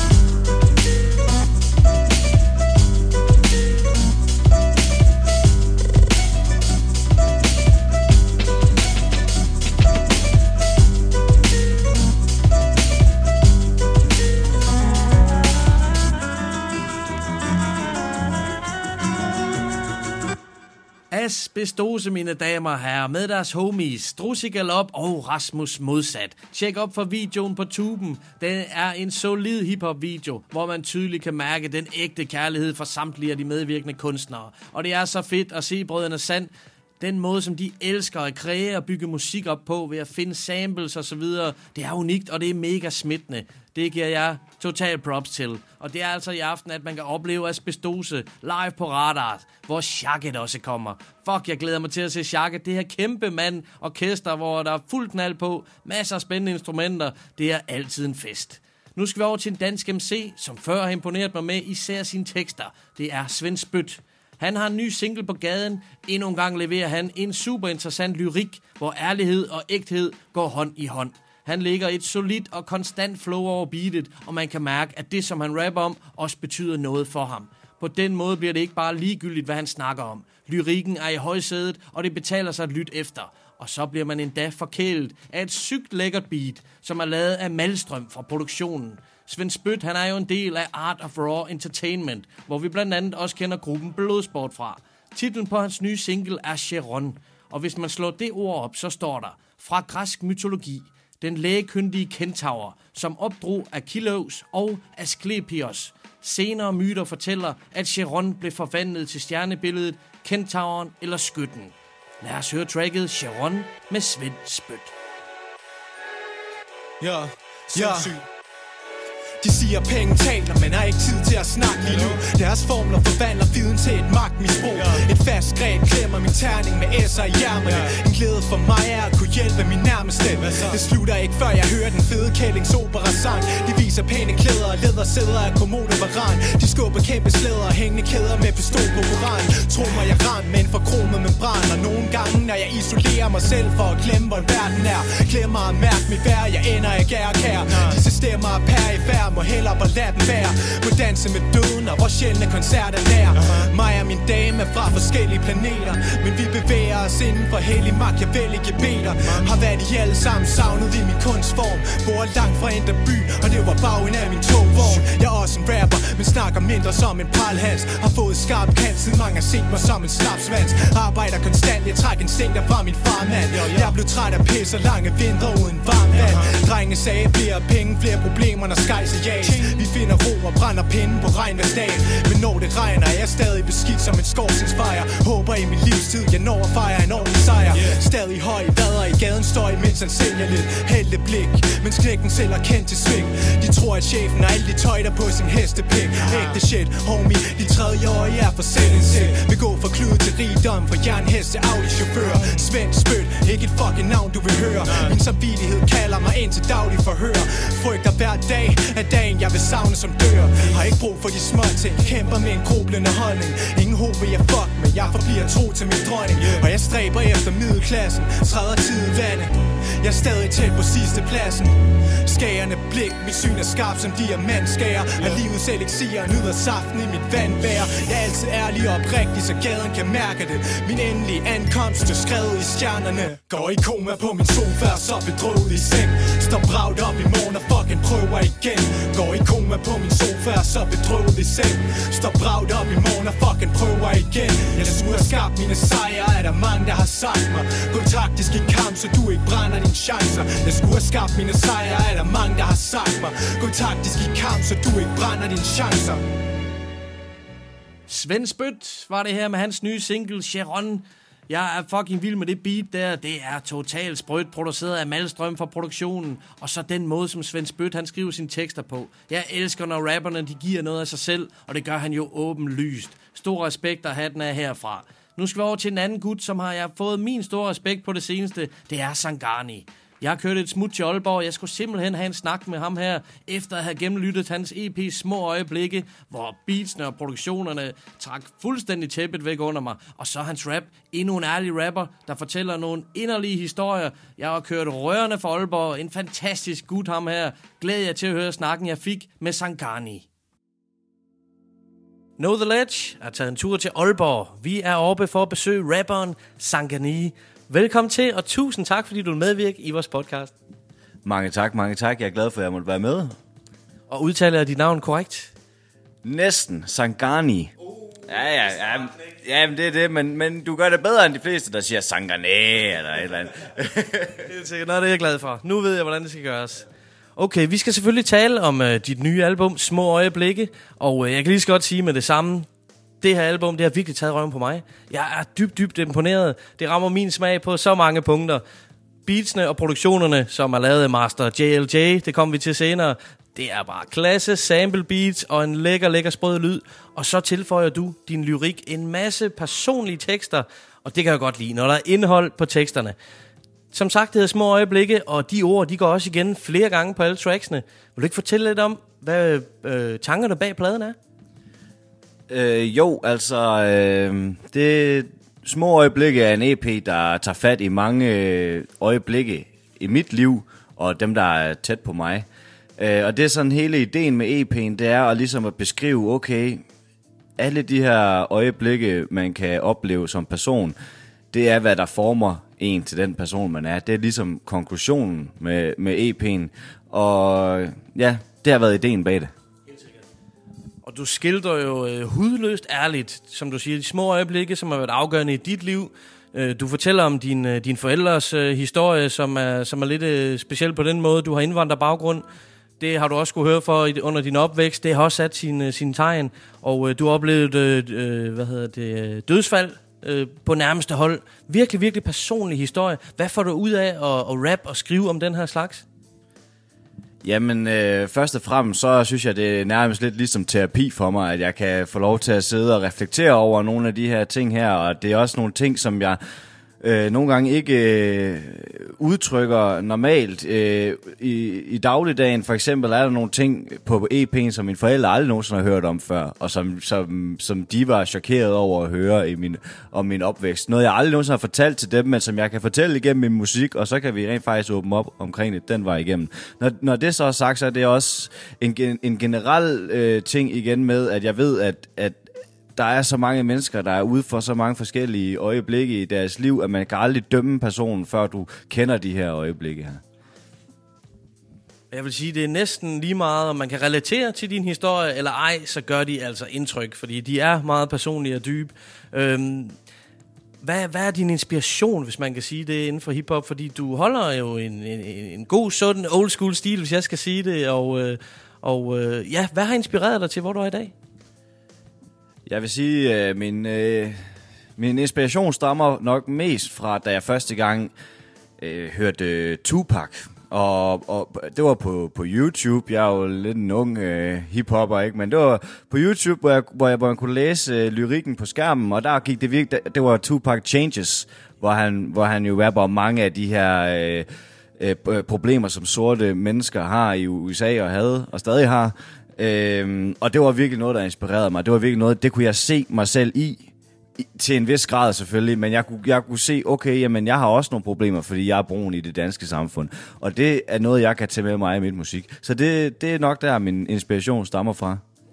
Asbestose, mine damer og herrer, med deres homies Struzzi Galop og Rasmus Modsat. Tjek op for videoen på tuben. Den er en solid hiphop video, hvor man tydeligt kan mærke den ægte kærlighed fra samtlige af de medvirkende kunstnere. Og det er så fedt at se brødrene Sand, den måde, som de elsker at kreere og bygge musik op på ved at finde samples og så videre. Det er unikt, og det er mega smittende. Det giver jeg total props til. Og det er altså i aften, at man kan opleve Asbestose live på Radar, hvor Shagget også kommer. Fuck, jeg glæder mig til at se Shagget. Det her kæmpe mand orkester, hvor der er fuld knald på, masser af spændende instrumenter. Det er altid en fest. Nu skal vi over til en dansk M C, som før har imponeret mig med især sine tekster. Det er Svend Spyt. Han har en ny single på gaden. Endnu en gang leverer han en super interessant lyrik, hvor ærlighed og ægthed går hånd i hånd. Han lægger et solidt og konstant flow over beatet, og man kan mærke, at det, som han rapper om, også betyder noget for ham. På den måde bliver det ikke bare ligegyldigt, hvad han snakker om. Lyrikken er i højsædet, og det betaler sig at lytte efter. Og så bliver man endda forkælet af et sygt lækkert beat, som er lavet af Malstrøm fra produktionen. Svend Spyt, han er jo en del af Art of Raw Entertainment, hvor vi blandt andet også kender gruppen Blodsport fra. Titlen på hans nye single er Chiron, og hvis man slår det ord op, så står der: fra græsk mytologi, den lægekyndige kentaur, som opdrog Achilleus og Asklepios. Senere myter fortæller, at Chiron blev forvandlet til stjernebilledet, kentauren eller skytten. Lad os høre tracket Chiron med Svend Spyt. Ja, ja. De siger, penge taler, men har ikke tid til at snakke lige nu. Deres formler forvandler viden til et magtmisbrug. Et fast greb klemmer min terning med S'er i hjermerne. En glæde for mig er at kunne hjælpe min nærmeste. Det slutter ikke før jeg hører den fede Kællings opera-sang. De viser pæne klæder og lædersæder af kommode varan. De skubber kæmpe slæder og hængende kæder med pistol på koran. Tro mig, jeg ran med en forkromet membran. Og nogle gange, når jeg isolerer mig selv for at glemme, hvor verden er, glemmer at mærke mit værd, jeg ender ikke er kær. Disse stemmer er perifær, må hellere bare lade den være. Må danse med døden, og hvor sjældne koncerter nær. Mig og min dame er fra forskellige planeter, men vi bevæger os inden for hellig machiavellige beter. Har været i alle sammen savnet i min kunstform. Bor langt fra Indre By, og det var bagen af min togvogn. Jeg er også en rapper, men snakker mindre som en pralhans. Har fået skarp kant, siden mange har set mig som en slapsvans. Arbejder konstant, jeg trækker instinkter fra min farmand. Jeg blev træt af pis og lange vintre uden varmt vand. Drenge sagde, flere penge, flere problemer, når skejs er jas. Vi finder ro og brænder pinden på regnværsdagen. Men når det regner, er jeg stadig beskidt som en skovsingsfejr. Håber i min livstid, jeg når at fejre en ordentlig sejr. Stadig høj, vader i gaden står imens han sælger lidt heldig blik. Mens knækken selv er kendt til sving. De tror, at chefen har alle de tøjter på sin hestepik. Ægte shit, homie, de tredje år er for selvindsigt. Vi går fra klud til rigdom, fra jernhest til Audi-chauffør. Svend Spyt, ikke et fucking navn du vil høre. Min samvittighed kalder mig ind til daglig forhør. Frygter hver dag af dagen, jeg vil savne som dør. Har ikke brug for de små ting, kæmper med en grublende holdning. Ingen håb vil jeg fuck, men jeg forbliver tro til min dronning. Og jeg stræber efter middelklassen, træder tid i vandet. Jeg er stadig tæt på sidste pladsen. Skærende blik, mit syn er skarpt som diamantskærer. Af livets elixir, nyder saften i mit vandbær. Jeg er altid ærlig og oprigtig, så gaden kan mærke det. Min endelige ankomst er skrevet i stjernerne. Går i koma på min sofa, så bedrøvet i seng. Står bragt op i morgen og fucking prøver igen. Går i koma på min sofa, så bedrøvet i seng. Står bragt op i morgen og fucking prøver igen. Jeg skulle have skabt mine sejre, er der mange der har sagt mig. Gå taktisk i kamp, så du ikke brænder dine chancer. Jeg skulle have skabt mine sejre, er der mange der har sagt mig. Gå taktisk i kamp, så du ikke brænder dine chancer. Svend Spyt var det her med hans nye single Chiron. Jeg er fucking vild med det beat der. Det er totalt sprødt, produceret af Malstrøm fra produktionen. Og så den måde, som Svend Spyt han skriver sine tekster på. Jeg elsker, når rapperne de giver noget af sig selv, og det gør han jo åbenlyst. Stor respekt at have den af herfra. Nu skal vi over til en anden gut, som har jeg fået min store respekt på det seneste. Det er Sangani. Jeg har kørt et smut til Aalborg, jeg skulle simpelthen have en snak med ham her, efter at have gennemlyttet hans E P Små Øjeblikke, hvor beatsene og produktionerne trak fuldstændig tæppet væk under mig. Og så hans rap, endnu en ærlig rapper, der fortæller nogle inderlige historier. Jeg har kørt rørende for Aalborg, en fantastisk gut ham her. Glæder jeg til at høre snakken, jeg fik med Sangani. Know the Ledge er taget en tur til Aalborg. Vi er oppe for at besøge rapperen Sangani. Velkommen til, og tusind tak, fordi du vil medvirke i vores podcast. Mange tak, mange tak. Jeg er glad for, at jeg måtte være med. Og udtaler jeg dit navn korrekt? Næsten. Sangani. Ja, ja, ja. Ja, det er det, men, men du gør det bedre end de fleste, der siger Sangani eller et eller andet. Det er noget, det er jeg glad for. Nu ved jeg, hvordan det skal gøres. Okay, vi skal selvfølgelig tale om uh, dit nye album, Små Øjeblikke. Og uh, jeg kan lige så godt sige med det samme. Det her album, det har virkelig taget røven på mig. Jeg er dybt, dybt imponeret. Det rammer min smag på så mange punkter. Beatsene og produktionerne, som er lavet af Master J L J, det kommer vi til senere. Det er bare klasse, sample beats og en lækker, lækker sprød lyd. Og så tilføjer du din lyrik en masse personlige tekster. Og det kan jeg godt lide, når der er indhold på teksterne. Som sagt, det hedder Små Øjeblikke, og de ord, de går også igen flere gange på alle tracksene. Vil du ikke fortælle lidt om, hvad øh, tankerne bag pladen er? Øh, jo, altså, øh, det Små Øjeblikke er en E P, der tager fat i mange øjeblikke i mit liv, og dem, der er tæt på mig. Øh, og det er sådan hele ideen med E P'en, det er at ligesom at beskrive, okay, alle de her øjeblikke, man kan opleve som person, det er, hvad der former en til den person, man er. Det er ligesom konklusionen med, med E P'en. Og ja, det har været ideen bag det. Og du skildrer jo øh, hudløst ærligt, som du siger, de små øjeblikke, som har været afgørende i dit liv. Øh, du fortæller om din, øh, din forældres øh, historie, som er, som er lidt øh, speciel på den måde. Du har indvandrerbaggrund. Det har du også kunne høre for under din opvækst. Det har også sat sin, sin tegn. Og øh, du har oplevet øh, hvad hedder det, dødsfald øh, på nærmeste hold. Virkelig, virkelig personlig historie. Hvad får du ud af at, at rap og skrive om den her slags? Jamen, øh, først og fremmest, så synes jeg, det er nærmest lidt ligesom terapi for mig, at jeg kan få lov til at sidde og reflektere over nogle af de her ting her, og det er også nogle ting, som jeg øh, nogle gange ikke øh, udtrykker normalt. Øh, i, I dagligdagen for eksempel er der nogle ting på E P'en, som mine forældre aldrig nogensinde har hørt om før, og som, som, som de var chokeret over at høre i min, om min opvækst. Noget, jeg aldrig nogensinde har fortalt til dem, men som jeg kan fortælle igennem min musik, og så kan vi rent faktisk åbne op omkring det den vej igennem. Når, når det så er sagt, så er det også en, en generel øh, ting igen med, at jeg ved, at, at der er så mange mennesker, der er ude for så mange forskellige øjeblikke i deres liv, at man kan aldrig dømme personen, før du kender de her øjeblikke her. Jeg vil sige, det er næsten lige meget, om man kan relatere til din historie, eller ej, så gør de altså indtryk, fordi de er meget personlige og dybe. Øhm, hvad, hvad er din inspiration, hvis man kan sige det, inden for hiphop? Fordi du holder jo en, en, en god, sådan old school stil, hvis jeg skal sige det, og, øh, og øh, ja, hvad har inspireret dig til, hvor du er i dag? Jeg vil sige, at øh, min, øh, min inspiration stammer nok mest fra, da jeg første gang øh, hørte øh, Tupac. Og, og det var på, på YouTube. Jeg er jo lidt en ung øh, hiphopper, ikke? Men det var på YouTube, hvor jeg, hvor jeg, hvor jeg kunne læse øh, lyrikken på skærmen. Og der gik det virkelig, det var Tupac Changes, hvor han, hvor han jo rapper om mange af de her øh, øh, problemer, som sorte mennesker har i U S A og havde, og stadig har. Øhm, og det var virkelig noget, der inspirerede mig. Det var virkelig noget, det kunne jeg se mig selv i, i til en vis grad selvfølgelig, men jeg kunne, jeg kunne se, okay, jamen jeg har også nogle problemer, fordi jeg er brun i det danske samfund. Og det er noget, jeg kan tage med mig i mit musik. Så det, det er nok der, min inspiration stammer fra.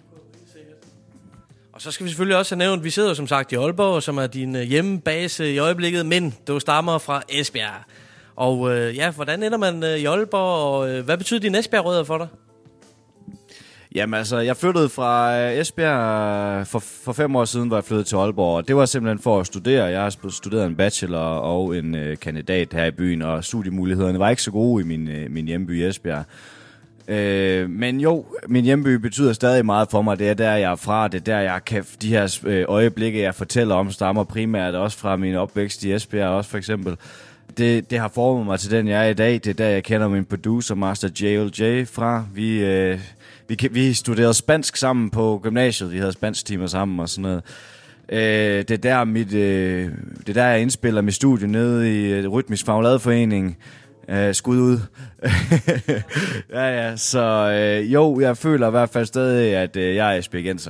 Og så skal vi selvfølgelig også have nævnt, vi sidder som sagt i Aalborg, som er din hjemmebase i øjeblikket, men du stammer fra Esbjerg. Og øh, ja, hvordan ender man øh, i Aalborg, og øh, hvad betyder dine Esbjerg-rødder for dig? Jamen altså, jeg flyttede fra Esbjerg for, for fem år siden, hvor jeg flyttede til Aalborg, og det var simpelthen for at studere. Jeg har studeret en bachelor og en øh, kandidat her i byen, og studiemulighederne var ikke så gode i min, øh, min hjemby Esbjerg. Øh, men jo, min hjemby betyder stadig meget for mig. Det er der, jeg er fra. Det er der, jeg kan, de her øh, øjeblikke, jeg fortæller om, stammer primært også fra min opvækst i Esbjerg også for eksempel. Det, det har formet mig til den, jeg er i dag. Det er der, jeg kender min producer, Master J L J fra. Vi... Øh, Vi, vi studerede spansk sammen på gymnasiet. Vi havde spansk timer sammen og sådan noget. Øh, det er der mit, øh, det er der jeg indspiller mit studie nede i uh, Rytmisk Fagladeforening. Øh, skud ud. ja ja. Så øh, jo, jeg føler i hvert fald stadig, at øh, jeg er esbjergenser.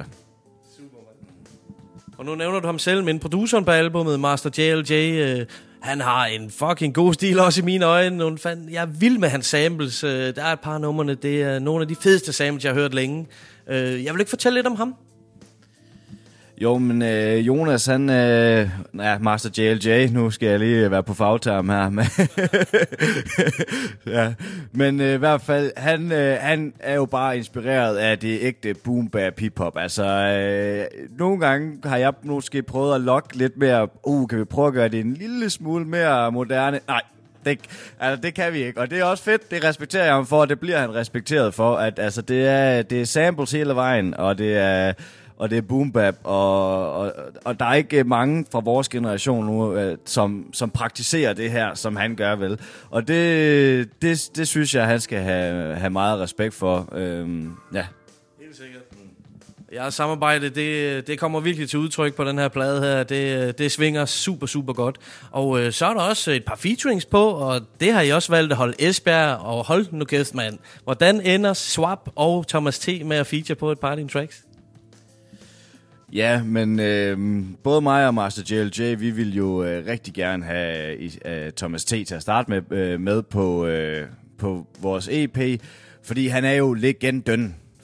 Og nu nævner du ham selv, men produceren på albumet, Master J L J, øh, han har en fucking god stil også i mine øjne. Nogle fan, jeg er vild med hans samples. Øh, der er et par numrene, det er nogle af de fedeste samples, jeg har hørt længe. Øh, jeg vil ikke fortælle lidt om ham. Jo, men øh, Jonas, han... Øh, ja, Master J L J, nu skal jeg lige være på fagterm her. Men, ja, men øh, i hvert fald, han, øh, han er jo bare inspireret af det ægte boom-bap hip-hop. Altså, øh, nogle gange har jeg måske prøvet at lokke lidt mere... Uh, kan vi prøve at gøre det en lille smule mere moderne? Nej. Det, altså, det kan vi ikke, og det er også fedt, det respekterer jeg ham for, og det bliver han respekteret for, at altså, det, er, det er samples hele vejen, og det er... Og det er boom bap, og, og, og der er ikke mange fra vores generation nu, øh, som, som praktiserer det her, som han gør vel. Og det, det, det synes jeg, han skal have, have meget respekt for. Øhm, ja. Helt sikkert. Ja, samarbejde, det, det kommer virkelig til udtryk på den her plade her. Det, det svinger super, super godt. Og øh, så er der også et par featurings på, og det har I også valgt at holde Esbjerg, og hold nu kæft, mand. Hvordan ender Swap og Thomas T. med at feature på et par af dine tracks? Ja, men øh, både mig og Master J L J, vi vil jo øh, rigtig gerne have øh, Thomas T. til at starte med, øh, med på, øh, på vores E P, fordi han er jo legenden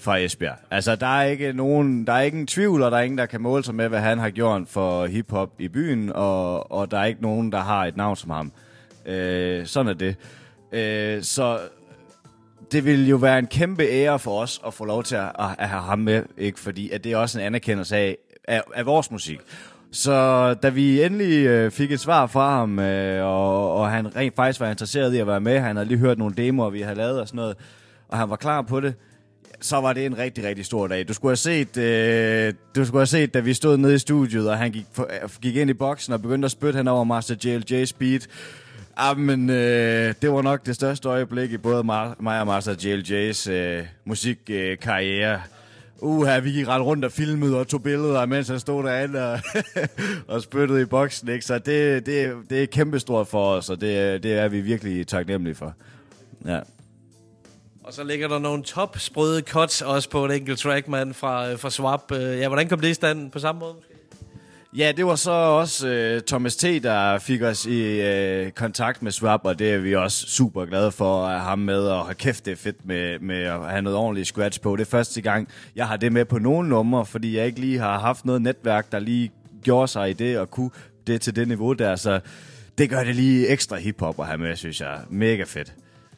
fra Esbjerg. Altså, der er ikke nogen, der er ikke en tvivl, og der er ingen, der kan måle sig med, hvad han har gjort for hiphop i byen, og, og der er ikke nogen, der har et navn som ham. Øh, sådan er det. Øh, så det vil jo være en kæmpe ære for os at få lov til at, at have ham med, ikke? Fordi at det er også en anerkendelse af, af, af vores musik. Så da vi endelig øh, fik et svar fra ham, øh, og, og han rent faktisk var interesseret i at være med, han havde lige hørt nogle demoer, vi havde lavet og sådan noget, og han var klar på det, så var det en rigtig, rigtig stor dag. Du skulle have set, øh, du skulle have set, da vi stod nede i studiet, og han gik, gik ind i boksen og begyndte at spytte hen over Master J L J's beat. Jamen, øh, det var nok det største øjeblik i både Mar- mig og Master J L J's øh, musikkarriere. Øh, Uha, vi gik ret rundt og filmede og tog billeder, mens han stod derinde og, og spyttede i boksen, ikke? Så det, det, det er kæmpestort for os, og det, det er vi virkelig taknemmelige for. Ja. Og så ligger der nogle top sprøde cuts også på et enkelt track, man, fra, fra Swap. Ja, hvordan kom det i stand på samme måde måske? Ja, det var så også uh, Thomas T., der fik os i uh, kontakt med Swap, og det er vi også super glade for at have ham med, og have kæft, det er fedt med, med at have noget ordentligt scratch på. Det er første gang, jeg har det med på nogle numre, fordi jeg ikke lige har haft noget netværk, der lige gjorde sig i det, og kunne det til det niveau der, så det gør det lige ekstra hiphop at have med, synes jeg. Mega fedt.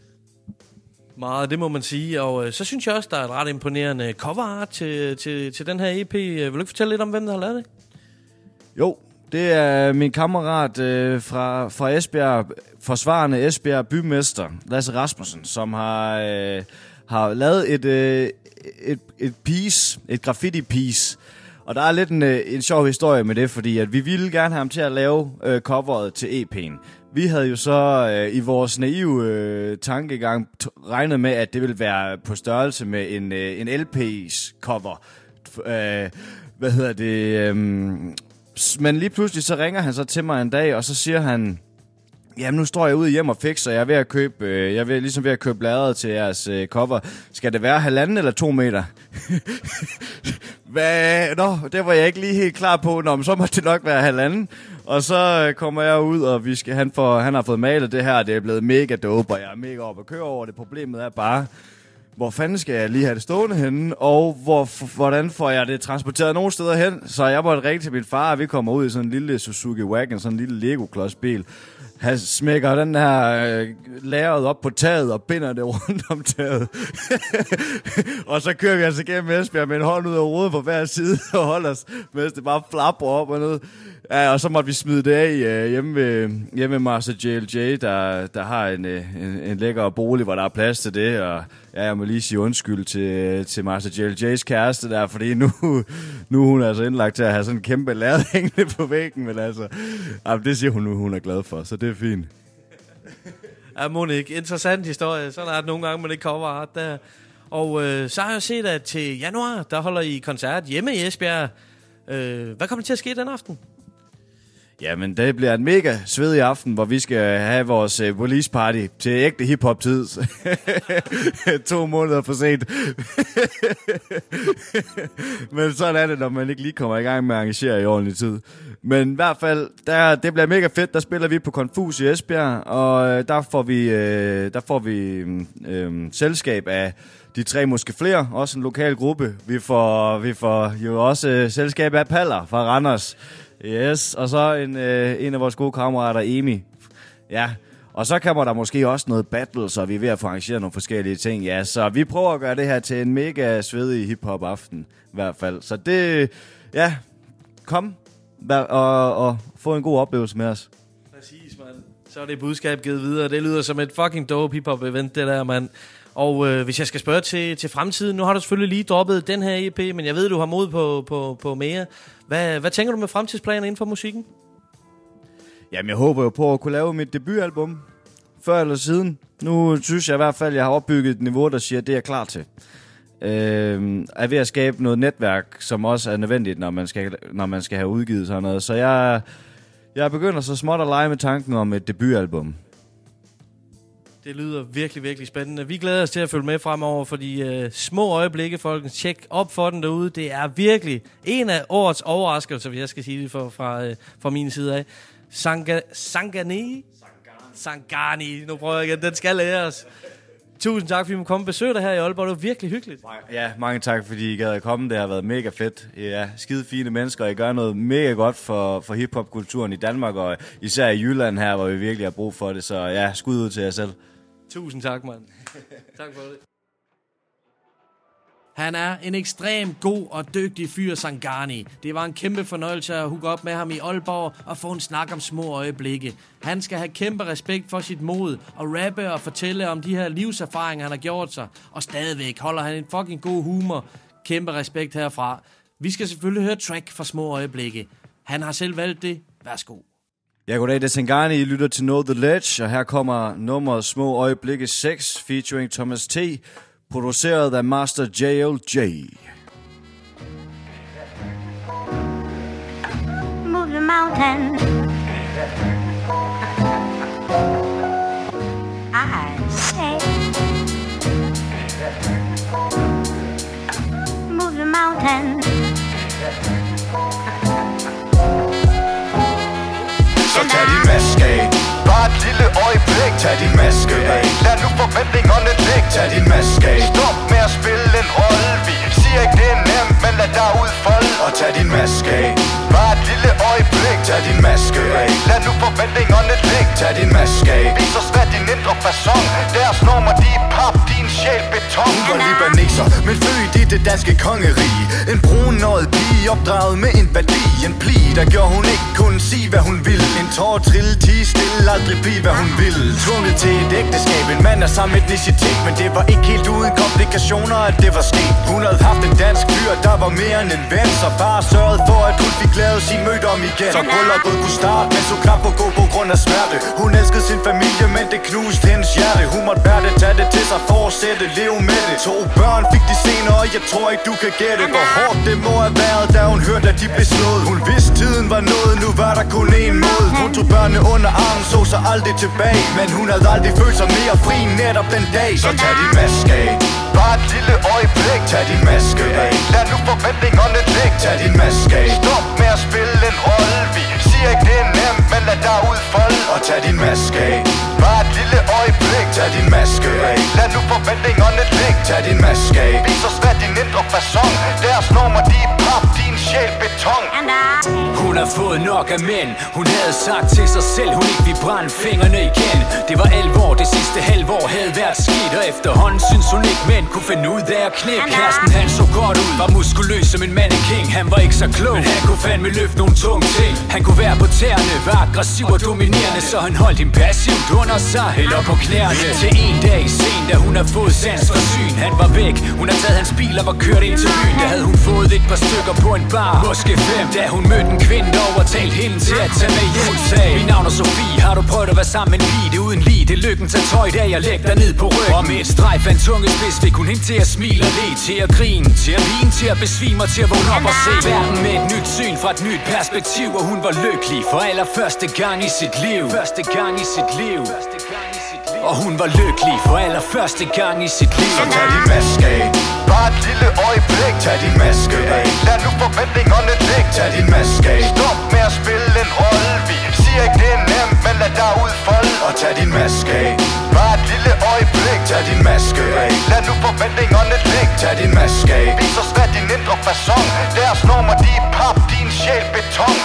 Meget, det må man sige, og øh, så synes jeg også, der er et ret imponerende cover art til, til, til den her E P. Vil du ikke fortælle lidt om, hvem der har lavet det? Jo, det er min kammerat øh, fra, fra Esbjerg, forsvarende Esbjerg bymester, Lasse Rasmussen, som har, øh, har lavet et, øh, et, et piece, et graffiti-piece. Og der er lidt en, en sjov historie med det, fordi at vi ville gerne have ham til at lave øh, coveret til E P'en. Vi havde jo så øh, i vores naive øh, tankegang t- regnet med, at det ville være på størrelse med en, øh, en L P's cover. Øh, hvad hedder det? Øh, men lige pludselig så ringer han så til mig en dag, og så siger han, jamen nu står jeg ude hjem og fikser, jeg er ved at købe, øh, jeg er ved, ligesom ved at købe bladret til jeres øh, cover. Skal det være halvanden eller to meter? Hvad? Nå, det var jeg ikke lige helt klar på. Nå, men så må det nok være halvanden. Og så øh, kommer jeg ud, og vi skal, han, får, han har fået malet det her, og det er blevet mega dope, og jeg er mega op at køre over det. Problemet er bare, hvor fanden skal jeg lige have det stående henne, og hvor, f- hvordan får jeg det transporteret nogle steder hen? Så jeg måtte ringe til min far, og vi kommer ud i sådan en lille Suzuki Wagon, sådan en lille Lego-klodsbil. Han smækker den her øh, lageret op på taget og binder det rundt om taget. Og så kører vi altså gennem Esbjerg med en hånd ud af rodet på hver side og holder os, mens det bare flapper op og noget. Ja, og så måtte vi smide det af øh, hjemme, ved, hjemme ved Master J L J, der, der har en, en, en lækker bolig, hvor der er plads til det. Og ja, jeg må lige sige undskyld til, til Master J L J's kæreste der, fordi nu, nu er hun altså indlagt til at have sådan en kæmpe lærred hængende på væggen. Men altså, jamen, det siger hun nu, hun er glad for, så det er fint. Ja, Monique, interessant historie. Så er det nogle gange, man ikke cover art der. Og øh, så har jeg set, at til januar, der holder I koncert hjemme i Esbjerg. Øh, hvad kommer der til at ske den aften? Jamen, det bliver en mega svedig aften, hvor vi skal have vores uh, release party til ægte hiphop-tid. to måneder for sent. Men sådan er det, når man ikke lige kommer i gang med at arrangere i ordentlig tid. Men i hvert fald, der, det bliver mega fedt. Der spiller vi på Confus i Esbjerg, og uh, der får vi, uh, der får vi um, selskab af de tre måske flere. Også en lokal gruppe. Vi får, vi får jo også uh, selskab af Paller fra Randers. Yes, og så en, øh, en af vores gode kammerater, Emi. Ja, og så kommer der måske også noget battle, så vi er ved at få arrangeret nogle forskellige ting. Ja, så vi prøver at gøre det her til en mega svedig hiphop-aften, i hvert fald. Så det, ja, kom og, og få en god oplevelse med os. Præcis, mand. Så er det budskab givet videre. Det lyder som et fucking dope hiphop-event, det der, mand. Og øh, hvis jeg skal spørge til, til fremtiden, nu har du selvfølgelig lige droppet den her E P, men jeg ved, du har mod på, på, på mere. Hvad, hvad tænker du med fremtidsplaner inden for musikken? Jamen, jeg håber jo på at kunne lave mit debutalbum før eller siden. Nu synes jeg i hvert fald, at jeg har opbygget et niveau, der siger, at det er jeg klar til. Øh, er ved at skabe noget netværk, som også er nødvendigt, når man skal, når man skal have udgivet sådan noget. Så jeg, jeg begynder så småt at lege med tanken om et debutalbum. Det lyder virkelig, virkelig spændende. Vi glæder os til at følge med fremover, fordi øh, små øjeblikke, folkens, tjek op for den derude. Det er virkelig en af årets overraskelser, hvis jeg skal sige det fra, fra, øh, fra min side af. Sanga, Sangani? Sangani. Nu prøver jeg igen. Den skal læres. Tusind tak, fordi I må komme og besøge dig her i Aalborg. Det var virkelig hyggeligt. Ja, mange tak, fordi I gad at komme. Det har været mega fedt. I er skide fine mennesker, og I gør noget mega godt for, for hiphop-kulturen i Danmark, og især i Jylland her, hvor vi virkelig har brug for det. Så ja, skud ud til jer selv. Tusind tak, mand. Tak for det. Han er en ekstremt god og dygtig fyr, Sangani. Det var en kæmpe fornøjelse at hooke op med ham i Aalborg og få en snak om små øjeblikke. Han skal have kæmpe respekt for sit mod og rappe og fortælle om de her livserfaringer, han har gjort sig. Og stadigvæk holder han en fucking god humor. Kæmpe respekt herfra. Vi skal selvfølgelig høre track for små øjeblikke. Han har selv valgt det. Værsgo. Ja, goddag, det er Sangani. I lytter til Know The Ledge, og her kommer nummeret Små Øjeblikke seks featuring Thomas T., produceret af Master J L J. Move the mountain. I say. Move the mountain. Så tag din maske af. Bare et lille øjeblik. Tag din maske af. Lad nu forventningerne ligge. Tag din maske af. Stop med at spille en rolle. Vi siger ikke det er nemt, men lad dig udfolde. Og tag din maske af. Bare et lille øjeblik. Tag din maske af. Lad nu forventningerne ligge. Tag din maske af. Vis os hvad din indre façon. Deres normer de er pap, din sjæl beton. Hun var libaneser, men født i det danske kongerige. En brunøjet pige opdraget med en værdi. En pli, der gjorde hun ikke kunne sige hvad hun ville. En tår trille, tige stille, aldrig blive hvad hun ville. Tvunget til et ægteskab, en mand af samme etnicitet. Men det var ikke helt uden komplikationer, at det var sket. Hun havde haft en dansk fyr, der var mere end en ven. Så far sørgede for, at hun fik lavet sin mødt om igen. Så brylluppet kunne starte, men så knap på gå på grund af smerte. Hun elskede sin familie, men det knuste hendes hjerte. Hun måtte bære det, tage det til sig, fortsætte, leve med det. To børn fik de senere, og jeg tror ikke du kan gætte hvor hårdt det må have været, da hun hørte at de blev slået. Hun vidste tiden var nået, nu var der kun én måde. Hun tog børnene under armen, så sig aldrig tilbage. Men hun havde aldrig følt sig mere fri netop den dag. Så tag din maske af. Bare et lille øjeblik. Tag din maske af. Lad nu forventningerne ligge. Tag din maske af. Stop med at spille en rolle. Vi siger ikke det er nemt, men lad dig udfolde. Og tag din maske af. Bare et lille øjeblik. Tag din maske af. Lad nu forventningerne ligge. Tag din maske af. Vis os hvad din indre façon. Deres normer de er pap, din sjæl beton. Hun har fået nok af mænd. Hun havde sagt til sig selv, hun ikke ville brænde fingrene igen. Det var alvor, det sidste halvår havde været skidt. Og efterhånden synes hun ikke mænd kunne finde ud af at knæppe. Kæresten han så godt ud, var muskuløs som en mannequin. Han var ikke så klog, men han kunne fandme løfte nogle tunge ting. Han kunne være på tæerne, var aggressiv og dominerende. Så han holdt hende passivt under sig, eller på knæerne. Til en dag sen, da hun har fået sans for syn. Han var væk, hun har taget hans bil og var kørt ind til byen. Der havde hun fået et par stykker på en bar, måske fem. Da hun mødte en kvinde og overtalte hende til at tage med hjem. Hun sagde, mit navn er Sofie, har du prøvet at være sammen med en pige? Det uden lige, det er lykken, tag tøj da jeg lægger dig ned på ryggen. Og med et strejf af en tungespids fik hun hende til at smile og le, til at grine, til at vine, til at besvime og til at vågne op og se verden med et nyt syn fra et nyt perspektiv. Og hun var lykkelig for allerførste gang i sit liv. Første gang i sit liv. Og hun var lykkelig for allerførste gang i sit liv. Så tag din maske af. Bare et lille øjeblik. Tag din maske af. Lad nu forventningerne ligge. Tag din maske af. Stop med at spille en rolle. Vi siger ikke det er nemt, men lad dig udfolde. Og tag din maske af. Bare et lille øjeblik. Tag din maske af. Lad nu forventningerne ligge. Tag din maske af. Vis os hvad din indre façon. Deres normer de er pap, din sjæl beton.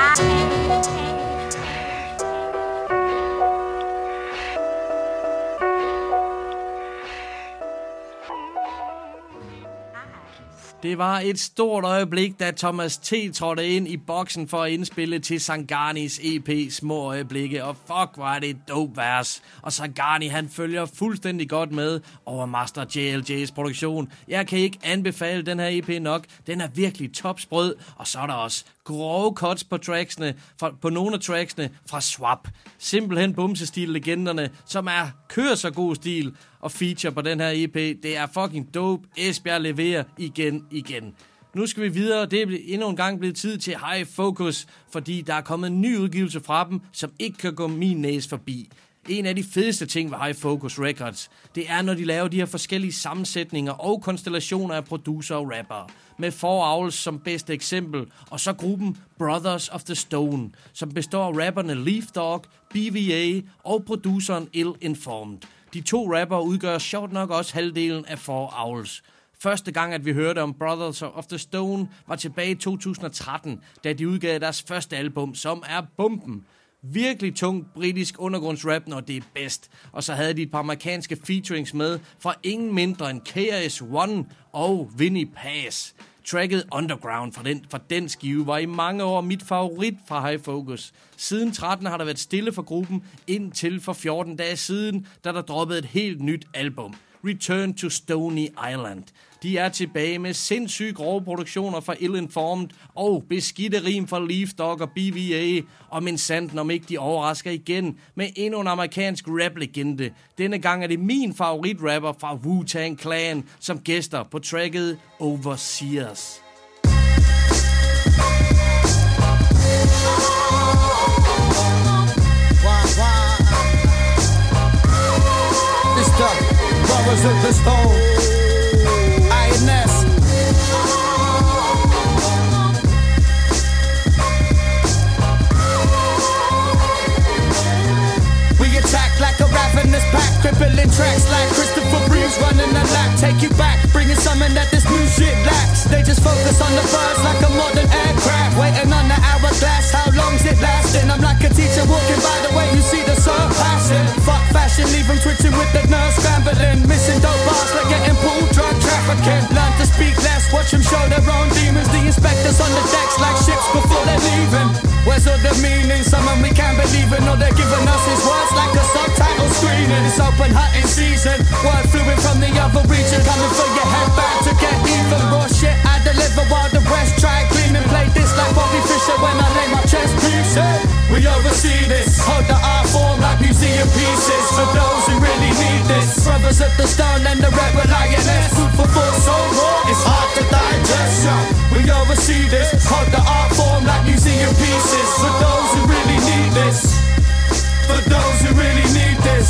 Det var et stort øjeblik, da Thomas T. trådte ind i boksen for at indspille til Sanganis E P Små Øjeblikke. Og fuck, var det et dope vers. Og Sangani, han følger fuldstændig godt med over Master J L J's produktion. Jeg kan ikke anbefale den her E P nok. Den er virkelig topsprød. Og så er der også grove cuts på tracksene, fra, på nogle af tracksene fra Swap. Simpelthen bumsestil-legenderne, som er kører så god stil og feature på den her E P. Det er fucking dope. Esbjerg leverer igen, igen. Nu skal vi videre. Det er endnu en gang blevet tid til High Focus, fordi der er kommet en ny udgivelse fra dem, som ikke kan gå min næse forbi. En af de fedeste ting ved High Focus Records, det er, når de laver de her forskellige sammensætninger og konstellationer af producer og rapper. Med Four Owls som bedste eksempel, og så gruppen Brothers of the Stone, som består af rapperne Leaf Dog, B V A og produceren Ill Informed. De to rapper udgør sjovt nok også halvdelen af Four Owls. Første gang, at vi hørte om Brothers of the Stone, var tilbage i to tusind og tretten, da de udgav deres første album, som er bomben. Virkelig tungt britisk undergrundsrap, når det er bedst. Og så havde de et par amerikanske featurings med fra ingen mindre end K R S One og Vinnie Paz. Tracket Underground fra den, fra den skive var i mange år mit favorit fra High Focus. Siden tretten har der været stille for gruppen, indtil for fjorten dage siden, da der droppede et helt nyt album. Return to Stony Island. De er tilbage med sindssygt grove produktioner fra Ill Informed og beskidte rim fra Leaf Dog og B V A. Og min sandt, om ikke de overrasker igen med endnu en amerikansk rap-legende. Denne gang er det min favoritrapper fra Wu-Tang Clan, som gæster på tracket Overseers. It's the Brothers of the Stone, I N S. We attack like a ravenous pack, crippling tracks like Christopher Reeves running a lap. Take you back, bringing something that this new shit lacks. They just focus on the birds like a modern aircraft, waiting on the hourglass. How long's it lasting? I'm like a teacher walking by the way you see the sun passing. Fuck fashion, leave them twitching with the nerves scrambling. Missing dope bars like getting pulled, drug trafficking. Learn to speak less, watch them show their own demons. The inspectors on the decks like ships before they're leaving. Where's all the meaning? Someone we can't believe in. All they're giving us is words like a subtitle screening. It's open hunting season. Word fluid from the other region, coming for your headband to get even. Raw shit I deliver while the rest try cleaning. Play this like Bobby Fischer when I lay my chest piece. We oversee this. Hold the art form like museum pieces for those who really need this. Brothers at the Stone and the rebel lioness. Food for thought so raw, it's hard to digest. We oversee this. Hold the art form like museum pieces for those who really need this. For those who really need this.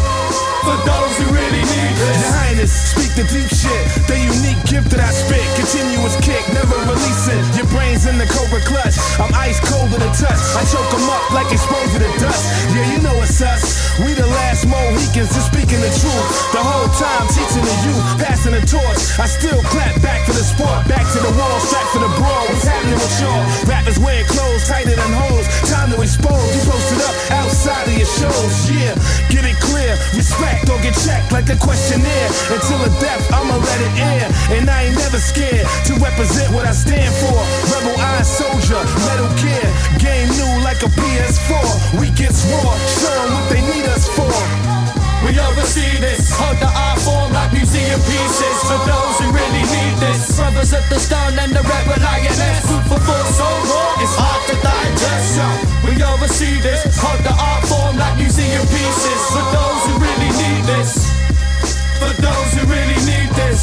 For those who really need this. Your Highness, speak the deep shit. The unique gift that I spit. Continuous kick, never releasing. Your brain's in the cobra clutch. I'm ice cold to the touch. I choke them up like exposed to the dust. Yeah, you know it's us. We the last Mohicans, just speaking the truth. The whole time teaching the youth, passing the torch. I still clap back for the sport. Back to the wall, strap for the brawl. What's happening with y'all? Rappers wearing clothes tighter than hoes. Time to expose. You posted up outside of your shows. Yeah, get it clear. Respect. Don't get checked like a questionnaire. Until the death, I'ma let it air. And I ain't never scared to represent what I stand for. Rebel Iron Soldier, Metal Gear. Game new like a P S four. We gets raw, show them what they need us for. We oversee this. Hold the art form like museum pieces for those who really need this. Brothers at the Stone and the rebel lioness. Food for thought so raw, it's hard to digest. We oversee this. Hold the art form like museum pieces for those who really need this. For those who really need this.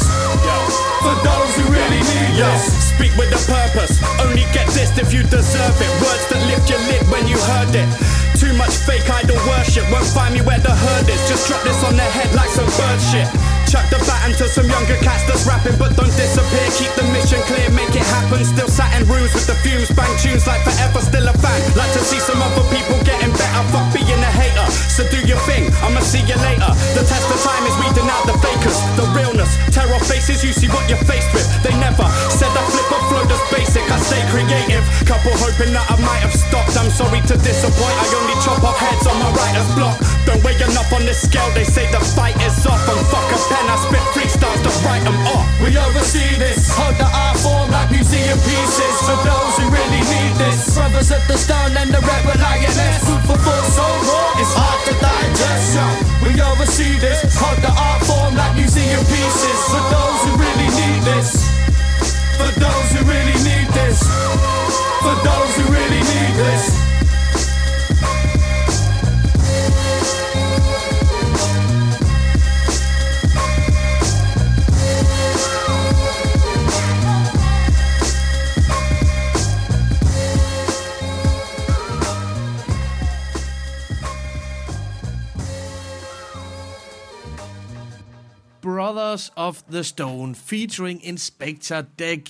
For those who really need Yo, this. speak with a purpose. Only get this if you deserve it. Words that lift your lid when you heard it. Too much fake idol worship won't find me where the herd is. Just drop this on their head like some bird shit. Chuck the baton to some younger cats that's rapping but don't disappear. Keep the mission clear, make it happen. Still sat in rooms with the fumes, bang tunes like forever, still a fan. Like to see some other people getting better. Fuck being a hater, so do your thing, I'ma see you later. The test of time is weeding out the fakers. The realness, terror faces, you see what you're faced with. They never said I flip a flow that's basic, I stay creative. Couple hoping that I might have stopped. I'm sorry to disappoint, I only chop off heads on my writer's block. Don't weigh enough on this scale, they say the fight is off. And fuck a pen, I spit freestyles to write them off. We oversee this. Hold the art form like museum pieces for those who really need this. Brothers at the Stone and the rebel lioness. Food for thought so raw, it's hard to digest. We oversee this. Hold the art form like museum pieces for those who really need this. For those who really need this. For those who really need this. Brothers of the Stone featuring Inspector Deck.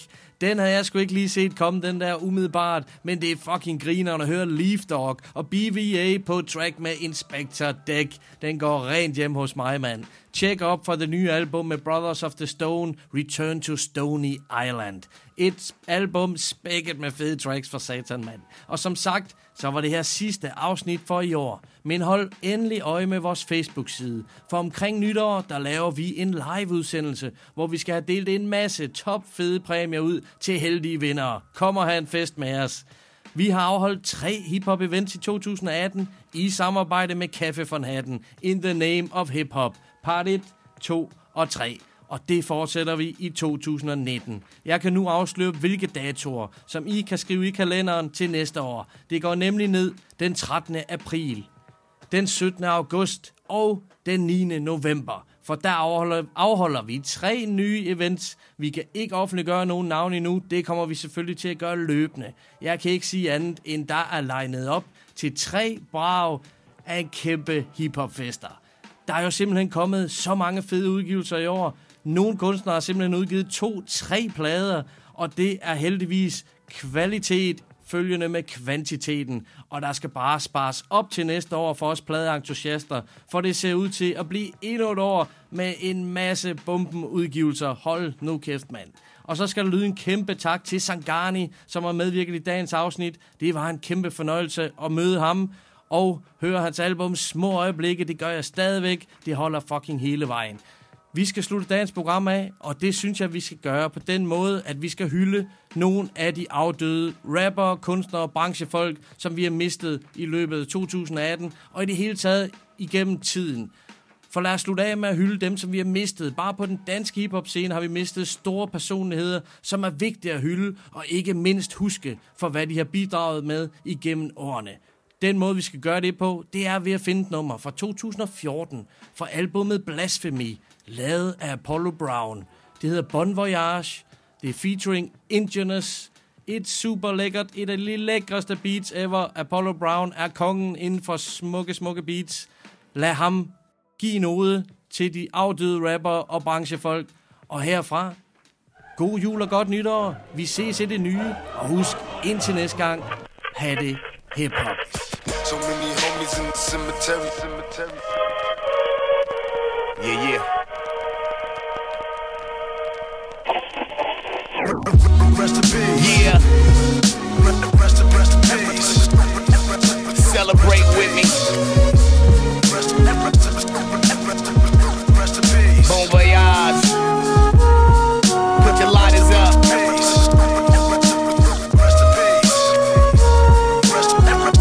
Den havde jeg sgu ikke lige set komme, den der umiddelbart, men det er fucking grineren at høre Leaf Dog og B V A på track med Inspector Deck. Den går rent hjem hos mig, mand. Check op for det nye album med Brothers of the Stone, Return to Stony Island. Et album spækket med fede tracks for satan, mand. Og som sagt, så var det her sidste afsnit for i år. Men hold endelig øje med vores Facebook-side. For omkring nytår, der laver vi en live-udsendelse, hvor vi skal have delt en masse top fede præmier ud til heldige vindere. Kom og have en fest med os. Vi har afholdt tre hiphop-events i to tusind atten i samarbejde med Café von Hatten. In the name of hip-hop. Part et, to og tre. Og det fortsætter vi i to tusind nitten. Jeg kan nu afsløre, hvilke datoer, som I kan skrive i kalenderen til næste år. Det går nemlig ned den trettende april, den syttende august og den niende november. For der afholder, afholder vi tre nye events. Vi kan ikke offentliggøre nogen navn endnu. Det kommer vi selvfølgelig til at gøre løbende. Jeg kan ikke sige andet, end der er legnet op til tre brag af en kæmpe hiphopfester. Der er jo simpelthen kommet så mange fede udgivelser i år. Nogle kunstnere har simpelthen udgivet to, tre plader, og det er heldigvis kvalitet følgende med kvantiteten. Og der skal bare spares op til næste år for os pladeentusiaster, for det ser ud til at blive endnu et år med en masse bombenudgivelser. Hold nu kæft, mand. Og så skal der lyde en kæmpe tak til Sangani, som har medvirket i dagens afsnit. Det var en kæmpe fornøjelse at møde ham og høre hans album Små Øjeblikke. Det gør jeg stadigvæk. Det holder fucking hele vejen. Vi skal slutte dagens program af, og det synes jeg, vi skal gøre på den måde, at vi skal hylde nogle af de afdøde rapper, kunstnere og branchefolk, som vi har mistet i løbet af to tusind atten, og i det hele taget igennem tiden. For lad os slutte af med at hylde dem, som vi har mistet. Bare på den danske hiphop-scene har vi mistet store personligheder, som er vigtige at hylde, og ikke mindst huske for, hvad de har bidraget med igennem årene. Den måde, vi skal gøre det på, det er ved at finde et nummer fra to tusind og fjorten fra albumet Blasphemy, lavet af Apollo Brown. Det hedder Bon Voyage. Det er featuring Indigenous. Et super lækkert, et af de lækreste beats ever. Apollo Brown er kongen inden for smukke, smukke beats. Lad ham give noget til de afdøde rapper og branchefolk. Og herfra, god jul og godt nytår. Vi ses i det nye. Og husk, indtil næste gang, ha' det hip-hop. So many homies in the cemetery, cemetery. Yeah, yeah. Rest in peace. Yeah. Rest in rest in peace. Celebrate with me. Rest in peace. Bon voyage. Put your lighters up. Rest in peace. Rest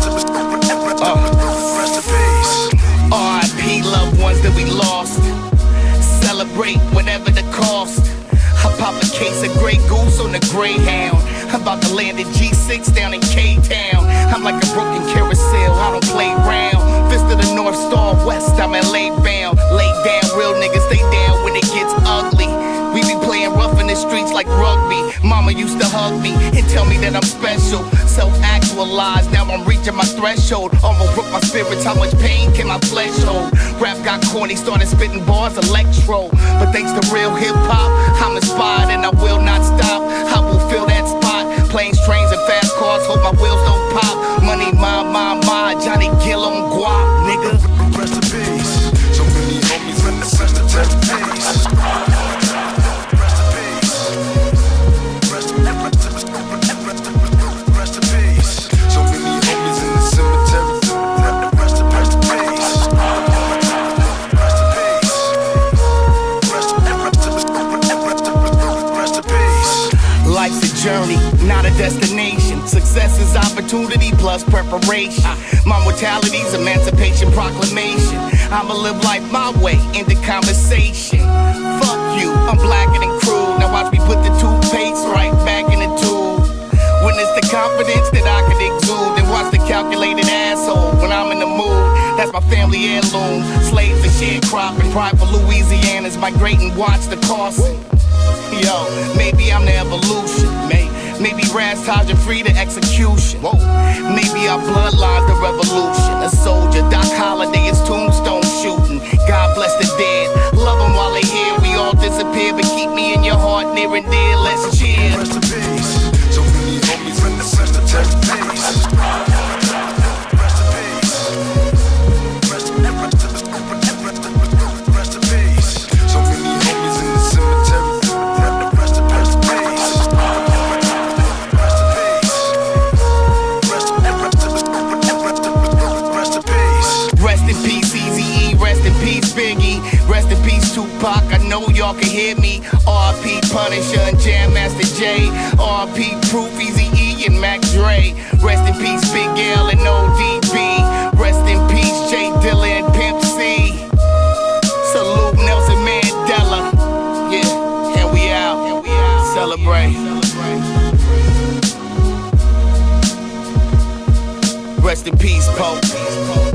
in peace. R I P loved ones that we lost. Celebrate whatever the cost. I pop a case of Grey Goose on the Greyhound. I'm about to land at G six down in K-Town. I'm like a broken carousel, I don't play round. Fist of the North Star West, I'm L A bound. Lay down, real niggas stay down when it gets ugly. We be playing rough in the streets like rugby. Mama used to hug me and tell me that I'm special. Self-actualized, now I'm reaching my threshold. Almost broke my spirits, how much pain can my flesh hold? Rap got corny, started spitting bars, electro. But thanks to real hip-hop, I'm inspired and I will not stop. I will fill that spot. Planes, trains, and fast cars, hope my wheels don't pop. Money, my, my, my, Johnny Gill on guap, nigga. Rest in peace. So many homies in the cemetery. Journey, not a destination. Success is opportunity plus preparation. My mortality's emancipation proclamation. I'ma live life my way into conversation. Fuck you, I'm blacker than crude. Now watch me put the toothpaste right back in the tube. Witness the confidence that I could exude. And watch the calculated asshole when I'm in the mood. That's my family heirloom. Slaves and sharecropping. Pride for Louisiana's migrating. Watch the cost. Yo, maybe I'm the evolution. Maybe, maybe Raz Taj and free the execution. Whoa. Maybe our bloodline's the revolution. A soldier, Doc Holliday is tombstone shooting. God bless the dead. Love them while they here. We all disappear, but keep me in your heart near and dear. Let's cheer. Rest in peace. Punisher and Jam Master J. R P Proof, Easy E and Mac Dre. Rest in peace, Big L and O D B. Rest in peace, Jay Dilla and Pimp C. Salute Nelson Mandela. Yeah, and we out. And we out. Celebrate. Rest in peace, Pope.